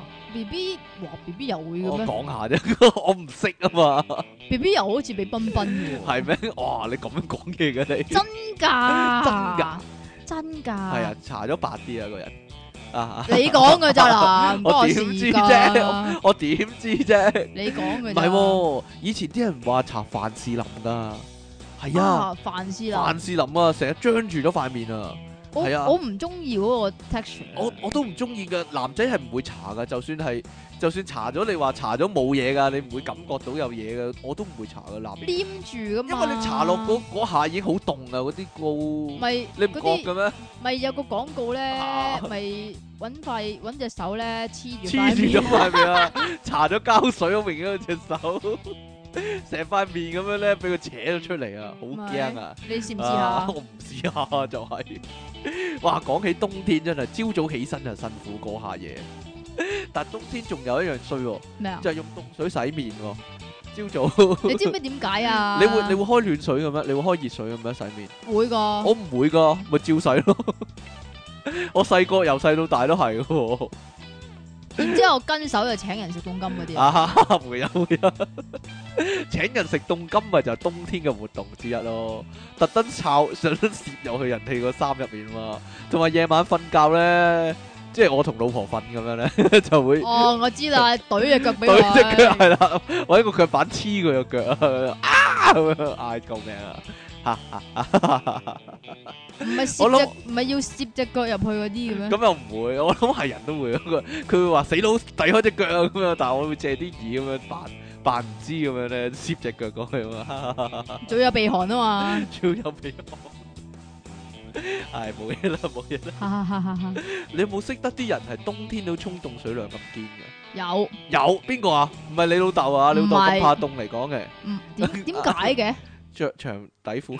？BB 油會嘅咩？ 我講下啫，我唔識啊嘛。 BB 油好似俾彬彬嘅喎。係咩？哇！你咁樣講嘢嘅你？ 真㗎？真㗎？ 係啊，搽咗白啲啊個人啊！ 你講嘅咋啦？ 我點知啫？我點知啫？ 你講嘅。 唔係喎，以前啲人話搽凡士林㗎。係啊， 凡士林啊，成日張住咗塊面啊，係啊， 我唔中意嗰個 texture， 我都唔中意噶，男仔係唔會搽噶，就算搽咗，你話搽咗冇嘢噶，你唔會感覺到有嘢噶，我都唔會搽噶，男黏住噶嘛， 因為你搽落嗰下已經好凍啊，嗰啲膏， 咪你唔覺嘅咩？ 咪有個廣告咧，咪搵隻手咧黐住咗塊面啊，搽咗膠水好明顯隻手。成塊面咁樣咧，俾佢扯咗出嚟啊！好驚啊！ 你試唔試下？ 我唔試下就係。哇，講起冬天真係，朝早起身就辛苦過下嘢。但係冬天仲有一樣衰喎， 咩啊？ 就係用凍水洗面喎。 朝早你知唔知點解啊？ 你會開暖水嘅咩？你會開熱水嘅咩？洗面？ 會噶。 我唔會噶，咪照洗咯。我細個由細到大都係喎。 然之後跟手就請人食凍金嗰啲啊。 啊，會啊！請人食凍金咪就係冬天嘅活動之一咯。特登想攝入去人哋個衫入面嘛。同埋夜晚瞓覺咧，即係我同老婆瞓咁樣咧，就會哦，我知啦，懟隻腳俾對佢。 隻腳係啦，揾個腳板黐佢個腳啊，咁樣嗌救命啊！ 唔係我諗唔係要攝隻腳入去嗰啲嘅咩？ 咁又唔會，我諗係人都會。佢會話死佬遞開隻腳啊咁樣，但係我會借啲耳咁樣扮唔知咁樣咧，攝隻腳過去啊嘛。 仲有鼻鼾啊嘛。 超有鼻鼾。係冇嘢啦，冇嘢啦。 哈哈哈哈！ 你有冇識得啲人係冬天都沖凍水涼咁堅嘅？ 有。 有邊個啊？唔係你老豆啊？你老豆咁怕凍嚟講嘅。 點解嘅？ 着長底褲。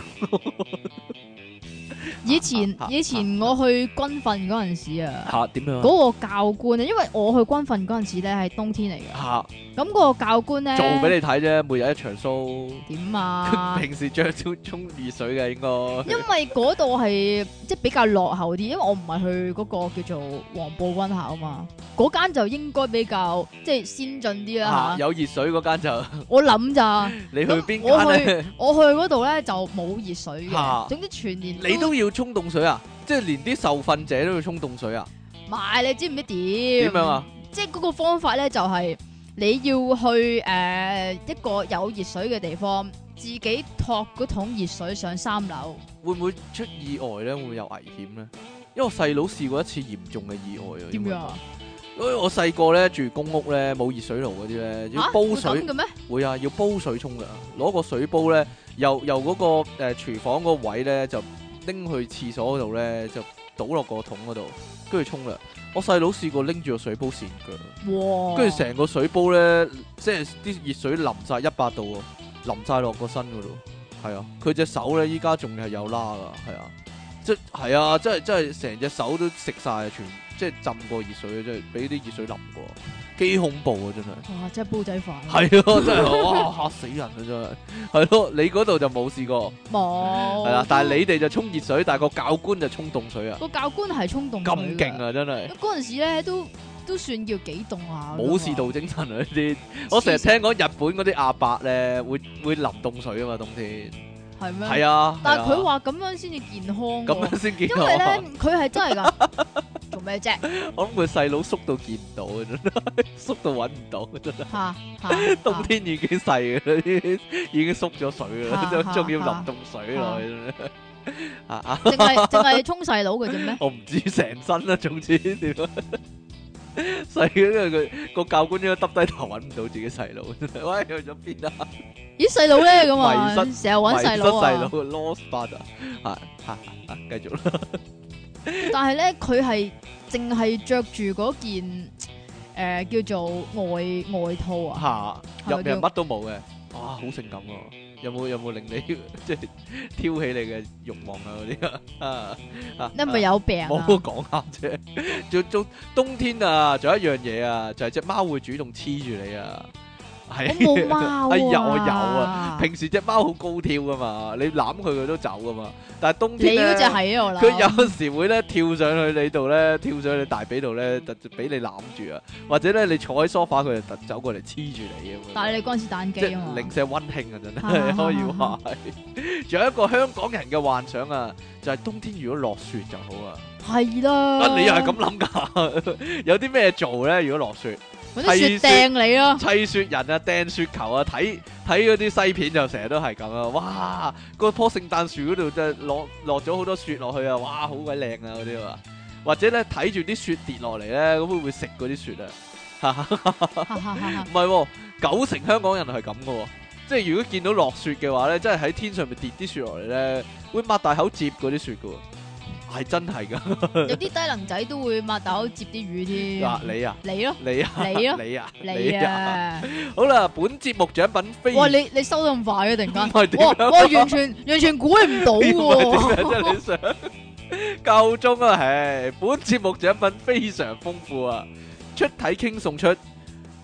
以前我去軍訓嗰陣時啊， 嚇點樣啊？ 嗰個教官啊，因為我去軍訓嗰陣時咧係冬天嚟嘅。 嚇咁嗰個教官咧做俾你睇啫，每日一場 show。 點啊？ 平時着少沖熱水嘅應該。 因為嗰度係即係比較落後啲，因為我唔係去嗰個叫做黃埔軍校啊嘛，嗰間就應該比較即係先進啲啦嚇。 有熱水嗰間就我諗咋？ 你去邊間咧？ 我去嗰度咧就冇熱水嘅，總之全年你都要沖凍水啊！即係連啲受訓者都要沖凍水啊！ 唔係，你知唔知點？ 點樣啊？ 即係嗰個方法咧，就係你要去一個有熱水嘅地方，自己托嗰桶熱水上3樓。 會唔會出意外咧？會唔會有危險咧？因為我細佬試過一次嚴重嘅意外啊！ 點樣啊？ 因為我細個咧住公屋咧，冇熱水爐嗰啲咧，要煲水。 會咁嘅咩？ 會啊，要煲水沖噶，攞個水煲咧，由嗰個廚房嗰個位咧，就拎去廁所嗰度咧，就倒落個桶嗰度，跟住沖涼。我細佬試過拎住個水煲跣腳， 哇！ 跟住成個水煲咧，即係啲熱水淋晒100度喎，淋晒落個身嗰度。係啊，佢隻手咧依家仲係有拉噶，係啊，係啊，真係成隻手都食晒，即係浸過熱水，即係俾啲熱水淋過，幾恐怖啊！真係。 哇！真係煲仔飯。 係咯，真係哇嚇死人啊！真係。係咯，你嗰度就冇試過。 冇。 係啦，但係你哋就沖熱水，但係個教官就沖凍水啊。 個教官係沖凍水。 咁勁啊！真係。 嗰陣時咧都算叫幾凍下。 武士道精神啊！呢啲，我成日聽講日本嗰啲阿伯咧會淋凍水啊嘛，冬天。 係咩？ 係啊。 但係佢話咁樣先至健康。 咁樣先健康。 因為咧，佢係真係㗎。做咩啫？ 我諗佢細佬縮到見唔到啊，真係縮到揾唔到，真係。 嚇！ 冬天已經細嘅啦，已經縮咗水啦，仲要淋凍水落去。 淨係沖細佬嘅啫咩？ 我唔知成身啦，總之點啊？細嘅，因為佢個教官應該耷低頭揾唔到自己細佬，喂，去咗邊啊？ 咦，細佬咧咁啊？ 迷失， 成日揾細佬啊！ 迷失細佬 ，lost father，繼續啦。 但係咧，佢係淨係着住嗰件叫做外套啊， 入面乜都冇嘅，哇，好性感啊！有冇令你即係挑起你嘅慾望啊嗰啲啊？ 你係咪有病啊？ 我講下啫。仲冬天啊，仲有一樣嘢啊，就係隻貓會主動黐住你啊。係我冇貓啊！ 哎呀，我有啊！平時隻貓好高挑噶嘛，你攬佢都走噶嘛。但係冬天咧， 你嗰隻係啊，我諗佢有時會咧跳上去你度咧，跳上去你大髀度咧，就俾你攬住啊。或者咧你坐喺梳化，佢就走過嚟黐住你咁樣。 但係你嗰陣時彈機啊嘛， 零舍溫馨啊，真係可以話係。仲有一個香港人嘅幻想啊，就係冬天如果落雪就好啊。 係啦。 你又係咁諗㗎？有啲咩做咧？如果落雪？ 嗰啲雪掟你咯， 砌雪人啊，掟雪球啊，睇嗰啲西片就成日都係咁啊！哇，嗰棵聖誕樹嗰度就落咗好多雪落去啊！哇，好鬼靚啊嗰啲啊！或者咧睇住啲雪跌落嚟咧，咁會唔會食嗰啲雪啊？唔係，90%香港人係咁噶，即係如果見到落雪嘅話咧，即係喺天上面跌啲雪落嚟咧，會擘大口接嗰啲雪噶。係真係噶， 有啲低能仔都會擘大口接啲魚添。 嗱，你啊， 你咯， 你啊， 你咯， 你啊， 你啊， 好啦，本節目獎品非哇，你收得咁快嘅突然間， 哇， 完全估唔到喎， 真係你想夠鐘啊，唉，本節目獎品非常豐富啊，出體 king 送出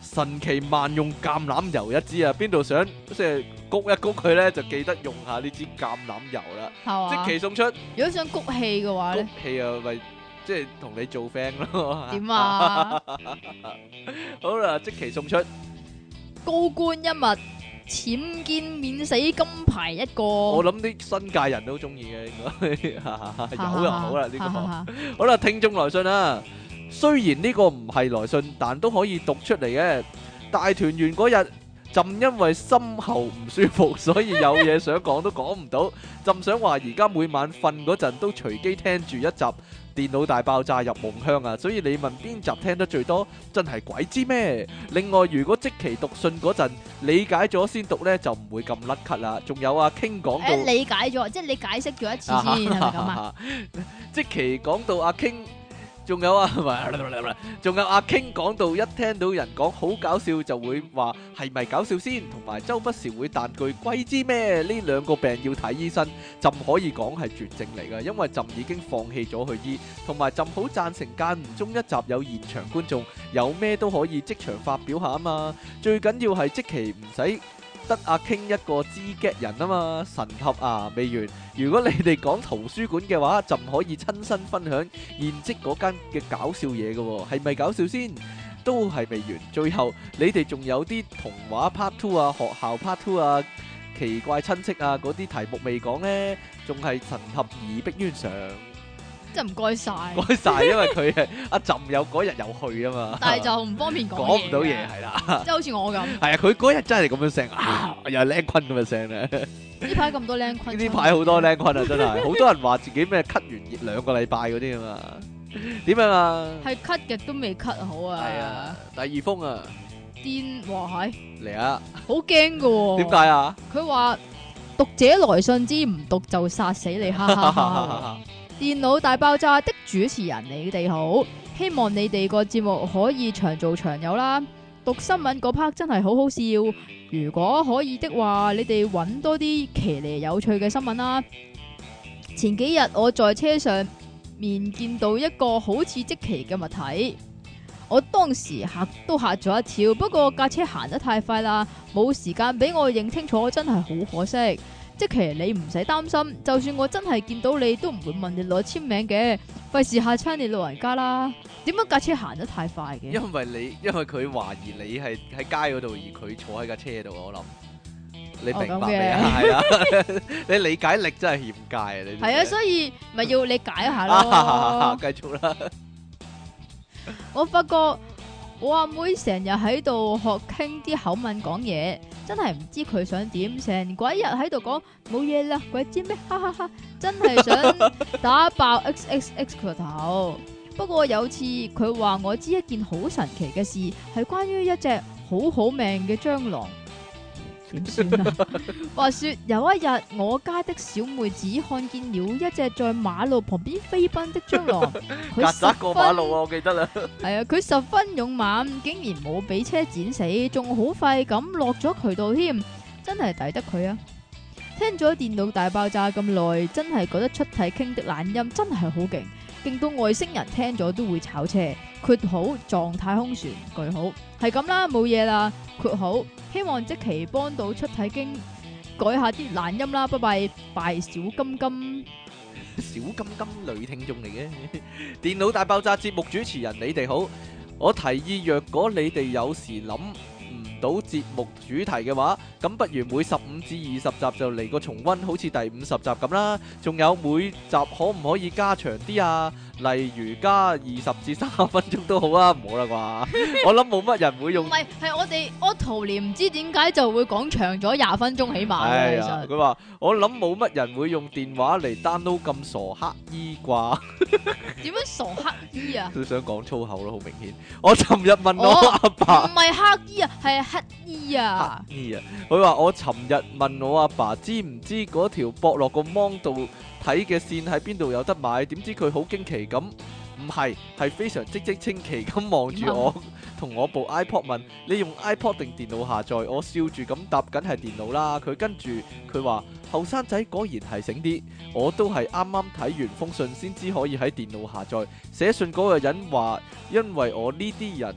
神奇萬用橄欖油一支啊！邊度想即係谷一谷佢咧，就記得用下呢支橄欖油啦。 係嘛？ 即期送出如果想谷氣嘅話谷咧， 氣啊，咪即係同你做 friend 咯。 點啊？ 好啦，即期送出高官一物，僭建免死金牌一個。 我諗啲新界人都中意嘅，應該有又好啦呢個。好啦，聽眾來信啊，雖然呢個唔係來信，但都可以讀出嚟嘅。大團圓嗰日，朕因為心喉唔舒服，所以有嘢想講都講唔到。朕想話而家每晚瞓嗰陣都隨機聽住一集電腦大爆炸入夢鄉啊，所以你問邊集聽得最多，真係鬼知咩？另外，如果即期讀信嗰陣理解咗先讀呢，就唔會咁甩咳啦。仲有啊，傾講到理解咗，即係你解釋咗一次先，係咪咁啊？ 即期講到阿傾。仲有啊，仲有阿 King 講到一聽到人講好搞笑就會話係咪搞笑先，同埋周不時會彈句鬼知咩？呢兩個病要睇醫生，朕可以講係絕症嚟㗎，因為朕已經放棄咗去醫，同埋朕好贊成間唔中一集有現場觀眾，有咩都可以即場發表下啊嘛，最緊要係即期唔使得阿 King 一個知 get 人啊嘛，神合啊未完。如果你哋講圖書館嘅話，就唔可以親身分享現職嗰間嘅搞笑嘢嘅喎，係咪搞笑先？都係未完。最後你哋仲有啲童話 part 2啊、學校 part 2啊、奇怪親戚啊嗰啲題目未講呢，仲係神合而逼冤上。 真係唔該晒， 唔該晒，因為佢係阿朕有嗰日有去啊嘛， 但係就唔方便講講唔到嘢係啦， 即係好似我咁。 係啊，佢嗰日真係咁樣聲啊，又係靚坤咁嘅聲咧。 呢排咁多靚坤， 呢排好多靚坤啊，真係好多人話自己咩咳完2個禮拜嗰啲啊嘛，點樣啊？ 係咳極都未咳好啊！ 係啊，第二封啊， 癲哇係嚟啊， 好驚噶喎！ 點解啊？ 佢話讀者來信之唔讀就殺死你，哈哈哈！電腦大爆炸的主持人，你哋好，希望你哋個節目可以長做長有啦。讀新聞嗰 part 真係好好笑，如果可以的話，你哋揾多啲騎呢有趣嘅新聞啦。前幾日我在車上面見到一個好似積淇嘅物體，我當時嚇咗一跳，不過架車行得太快啦，冇時間俾我認清楚，真係好可惜。即其你唔使擔心，就算我真係見到你，都唔會問你攞簽名嘅，費事嚇親你老人家啦。點解架車行得太快嘅？ 因為佢懷疑你係喺街嗰度，而佢坐喺架車度，我諗你明白未啊？係啊，你理解力真係欠佳啊！你係啊，所以咪要理解一下咯。 繼續啦。 我發覺我阿妹成日喺度學傾啲口吻講嘢，真係唔知佢想點，成鬼日喺度講冇嘢啦，鬼知咩？哈哈哈！真係想打爆 XXX 個頭。不過有次佢話我知一件好神奇嘅事，係關於一隻好好命嘅蟑螂。點算啊？話說有一日，我家的小妹子看見了一隻在馬路旁邊飛奔的蟑螂，佢曱甴過馬路啊！我記得啦。 係啊，佢十分勇猛，竟然冇俾車剪死，仲好快咁落咗渠道添，真係抵得佢啊！聽咗電腦大爆炸咁耐，真係覺得出體傾的懶音真係好勁，勁到外星人聽咗都會炒車。括號撞太空船句號係咁啦，冇嘢啦。括號希望即期幫到出體經改下啲懶音啦，拜拜拜小金金。 小金金女聽眾嚟嘅。電腦大爆炸節目主持人，你哋好。我提議若果你哋有時諗唔到節目主題嘅話，咁不如每15至20集就嚟個重溫，好似第50集咁啦。仲有每集可唔可以加長啲啊？例如加20至30分鐘都好啊，唔好啦啩？我諗冇乜人會用。 唔係，係我哋Auto連唔知點解就會講長咗20分鐘起碼嘅。其實佢話我諗冇乜人會用電話嚟 download 咁傻乞衣啩？ 點樣傻乞衣啊？ 佢想講粗口咯，好明顯。我尋日問我阿爸， 唔係乞衣啊，係乞衣啊。 乞衣啊！佢話我尋日問我阿爸知唔知嗰條駁落個芒度睇嘅線喺邊度有得買？點知佢好驚奇咁，唔係，係非常嘖嘖稱奇咁望住我，同我部 iPod 問你用 iPod 定電腦下載？我笑住咁答緊係電腦啦。佢跟住佢話後生仔果然係醒啲，我都係啱啱睇完封信先知可以喺電腦下載。寫信嗰個人話，因為我呢啲人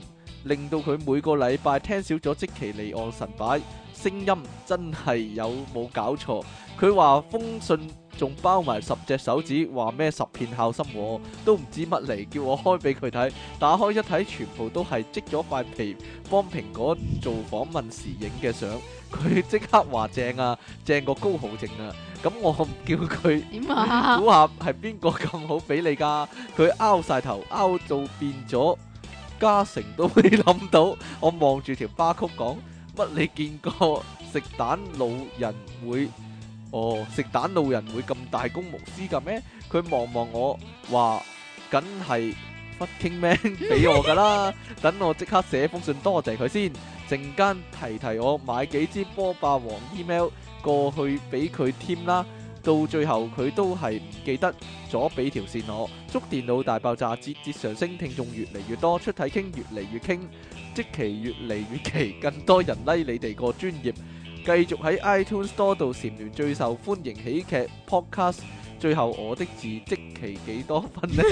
令到佢每個禮拜聽少咗積淇離岸神把聲音，真係有冇搞錯？佢話封信仲包埋10隻手指，話咩10片孝心喎，都唔知乜嚟，叫我開俾佢睇。打開一睇，全部都係織咗塊皮幫蘋果做訪問時影嘅相。佢即刻話正啊，正過高豪正啊！咁我叫佢點啊？ 估下係邊個咁好俾你㗎？佢拗晒頭，拗到變咗嘉誠都未諗到。我望住條巴曲講，乜你見過食蛋老人會？食蛋老人會咁大公無私㗎咩？佢望望我話，梗係 fucking man 俾我㗎啦。等我即刻寫封信多謝佢先。陣間提我買幾支波霸王 email 過去俾佢添啦。到最後佢都係唔記得咗俾條線我。祝電腦大爆炸節節上升，聽眾越嚟越多，出體傾越嚟越傾，積淇越嚟越奇，更多人like你哋個專業。繼續喺 iTunes Store 度蟬聯最受歡迎喜劇 podcast。最後我的字積淇幾多分呢？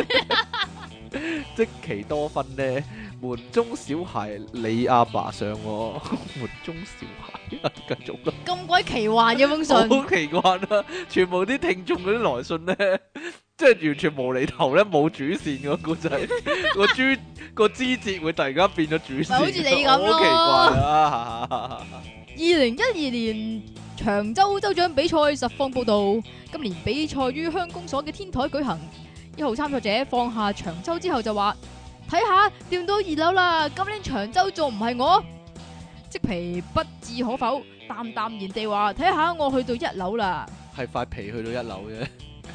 積淇多分呢？門中小孩你阿爸上喎，門中小孩繼續啦。 咁鬼奇幻嘅封信， 好奇怪啦！全部啲聽眾嗰啲來信咧，即係完全無厘頭咧，冇主線個故仔，個枝節會突然間變咗主線， 好似你咁咯。 好奇怪啊 ！2012年長洲州長比賽實況報道，今年比賽於鄉公所嘅天台舉行。1號參賽者放下長洲之後就話：睇下掂到2樓啦，今年長洲仲唔係我？即皮不置可否，淡淡然地話：睇下我去到1樓啦。 係塊皮去到1樓啫。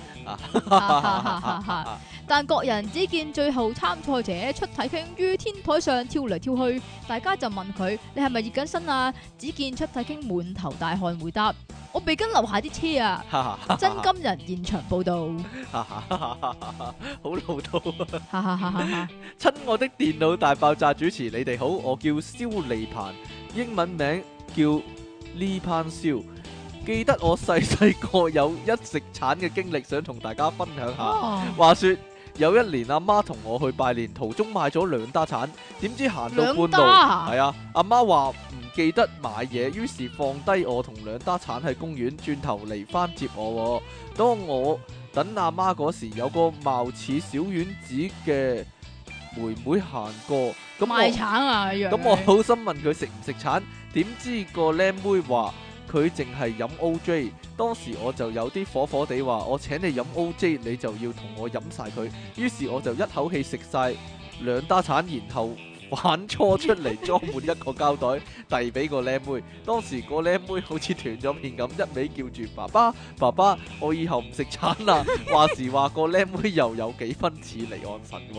但各人只見最後參賽者出體 king 於天台上跳嚟跳去，大家就問佢：你係咪熱緊身啊？只見出體 king 滿頭大汗回答：我被跟樓下啲車啊！真金人現場報道， 好老土啊！親愛的電腦大爆炸主持，你哋好，我叫蕭利鵬，英文名叫呢攀蕭。記得我細個有一食橙嘅經歷，想同大家分享下。話說有一年阿媽同我去拜年，途中買咗2打橙，點知行到半路，係啊，阿媽話唔記得買嘢，於是放低我同2打橙喺公園，轉頭嚟翻接我。當我等阿媽嗰時，有個貌似小丸子嘅妹妹行過， 賣橙啊！ 咁我好心問佢食唔食橙，點知個靚妹話佢淨係飲 OJ， 當時我就有啲火火地話：我請你飲 OJ， 你就要同我飲晒佢。於是我就一口氣食晒2打橙，然後反搓出嚟裝滿一個膠袋，遞俾個靚妹。當時個靚妹好似斷咗片咁，一味叫住爸爸爸爸，我以後唔食橙啦。話時話個靚妹又有幾分似離岸神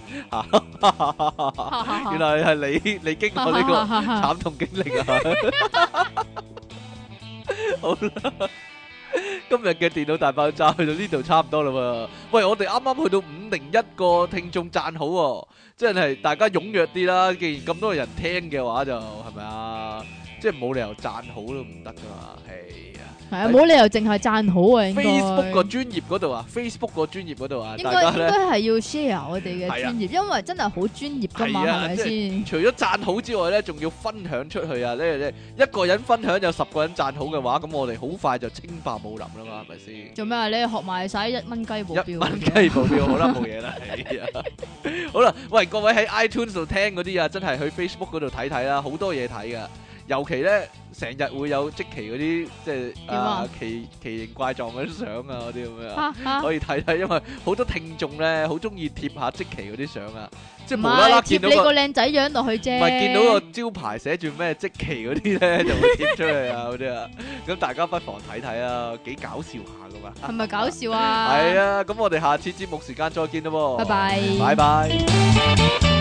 喎，原來係你經過呢個慘痛經歷啊！好啦，今日嘅電腦大爆炸去到呢度差唔多啦喎。喂，我哋啱啱去到501個聽眾讚好喎，真係大家踴躍啲啦。既然咁多人聽嘅話，就係咪啊？即係冇理由讚好都唔得噶嘛，係啊。係啊， 冇理由淨係讚好啊。應該 Facebook 個專頁嗰度啊，Facebook 個專頁嗰度啊，大家咧應該係要 share 我哋嘅專頁，因為真係好專業噶嘛，係咪先？ 除咗讚好之外咧，仲要分享出去啊！呢一個人分享有10個人讚好嘅話，咁我哋好快就稱霸武林啦嘛，係咪先？做咩啊？ 你學埋晒1蚊雞保鏢 ，1蚊雞保鏢好啦，冇嘢啦，係啊。好啦，喂，各位喺 iTunes 度聽嗰啲啊，真係去 Facebook 嗰度睇睇啦，好多嘢睇噶。尤其咧，成日會有積淇嗰啲即係奇形怪狀嗰啲相啊，嗰啲咁樣可以睇睇，因為好多聽眾咧好中意貼下積淇嗰啲相啊，即係無啦啦見到貼你個靚仔樣落去啫， 唔係見到個招牌寫住咩積淇嗰啲咧，就會貼出去啊嗰啲啊，咁大家不妨睇睇啊，幾搞笑下噶嘛， 係咪搞笑啊？ 係啊，咁我哋下次節目時間再見啦喎， 拜拜， 拜拜。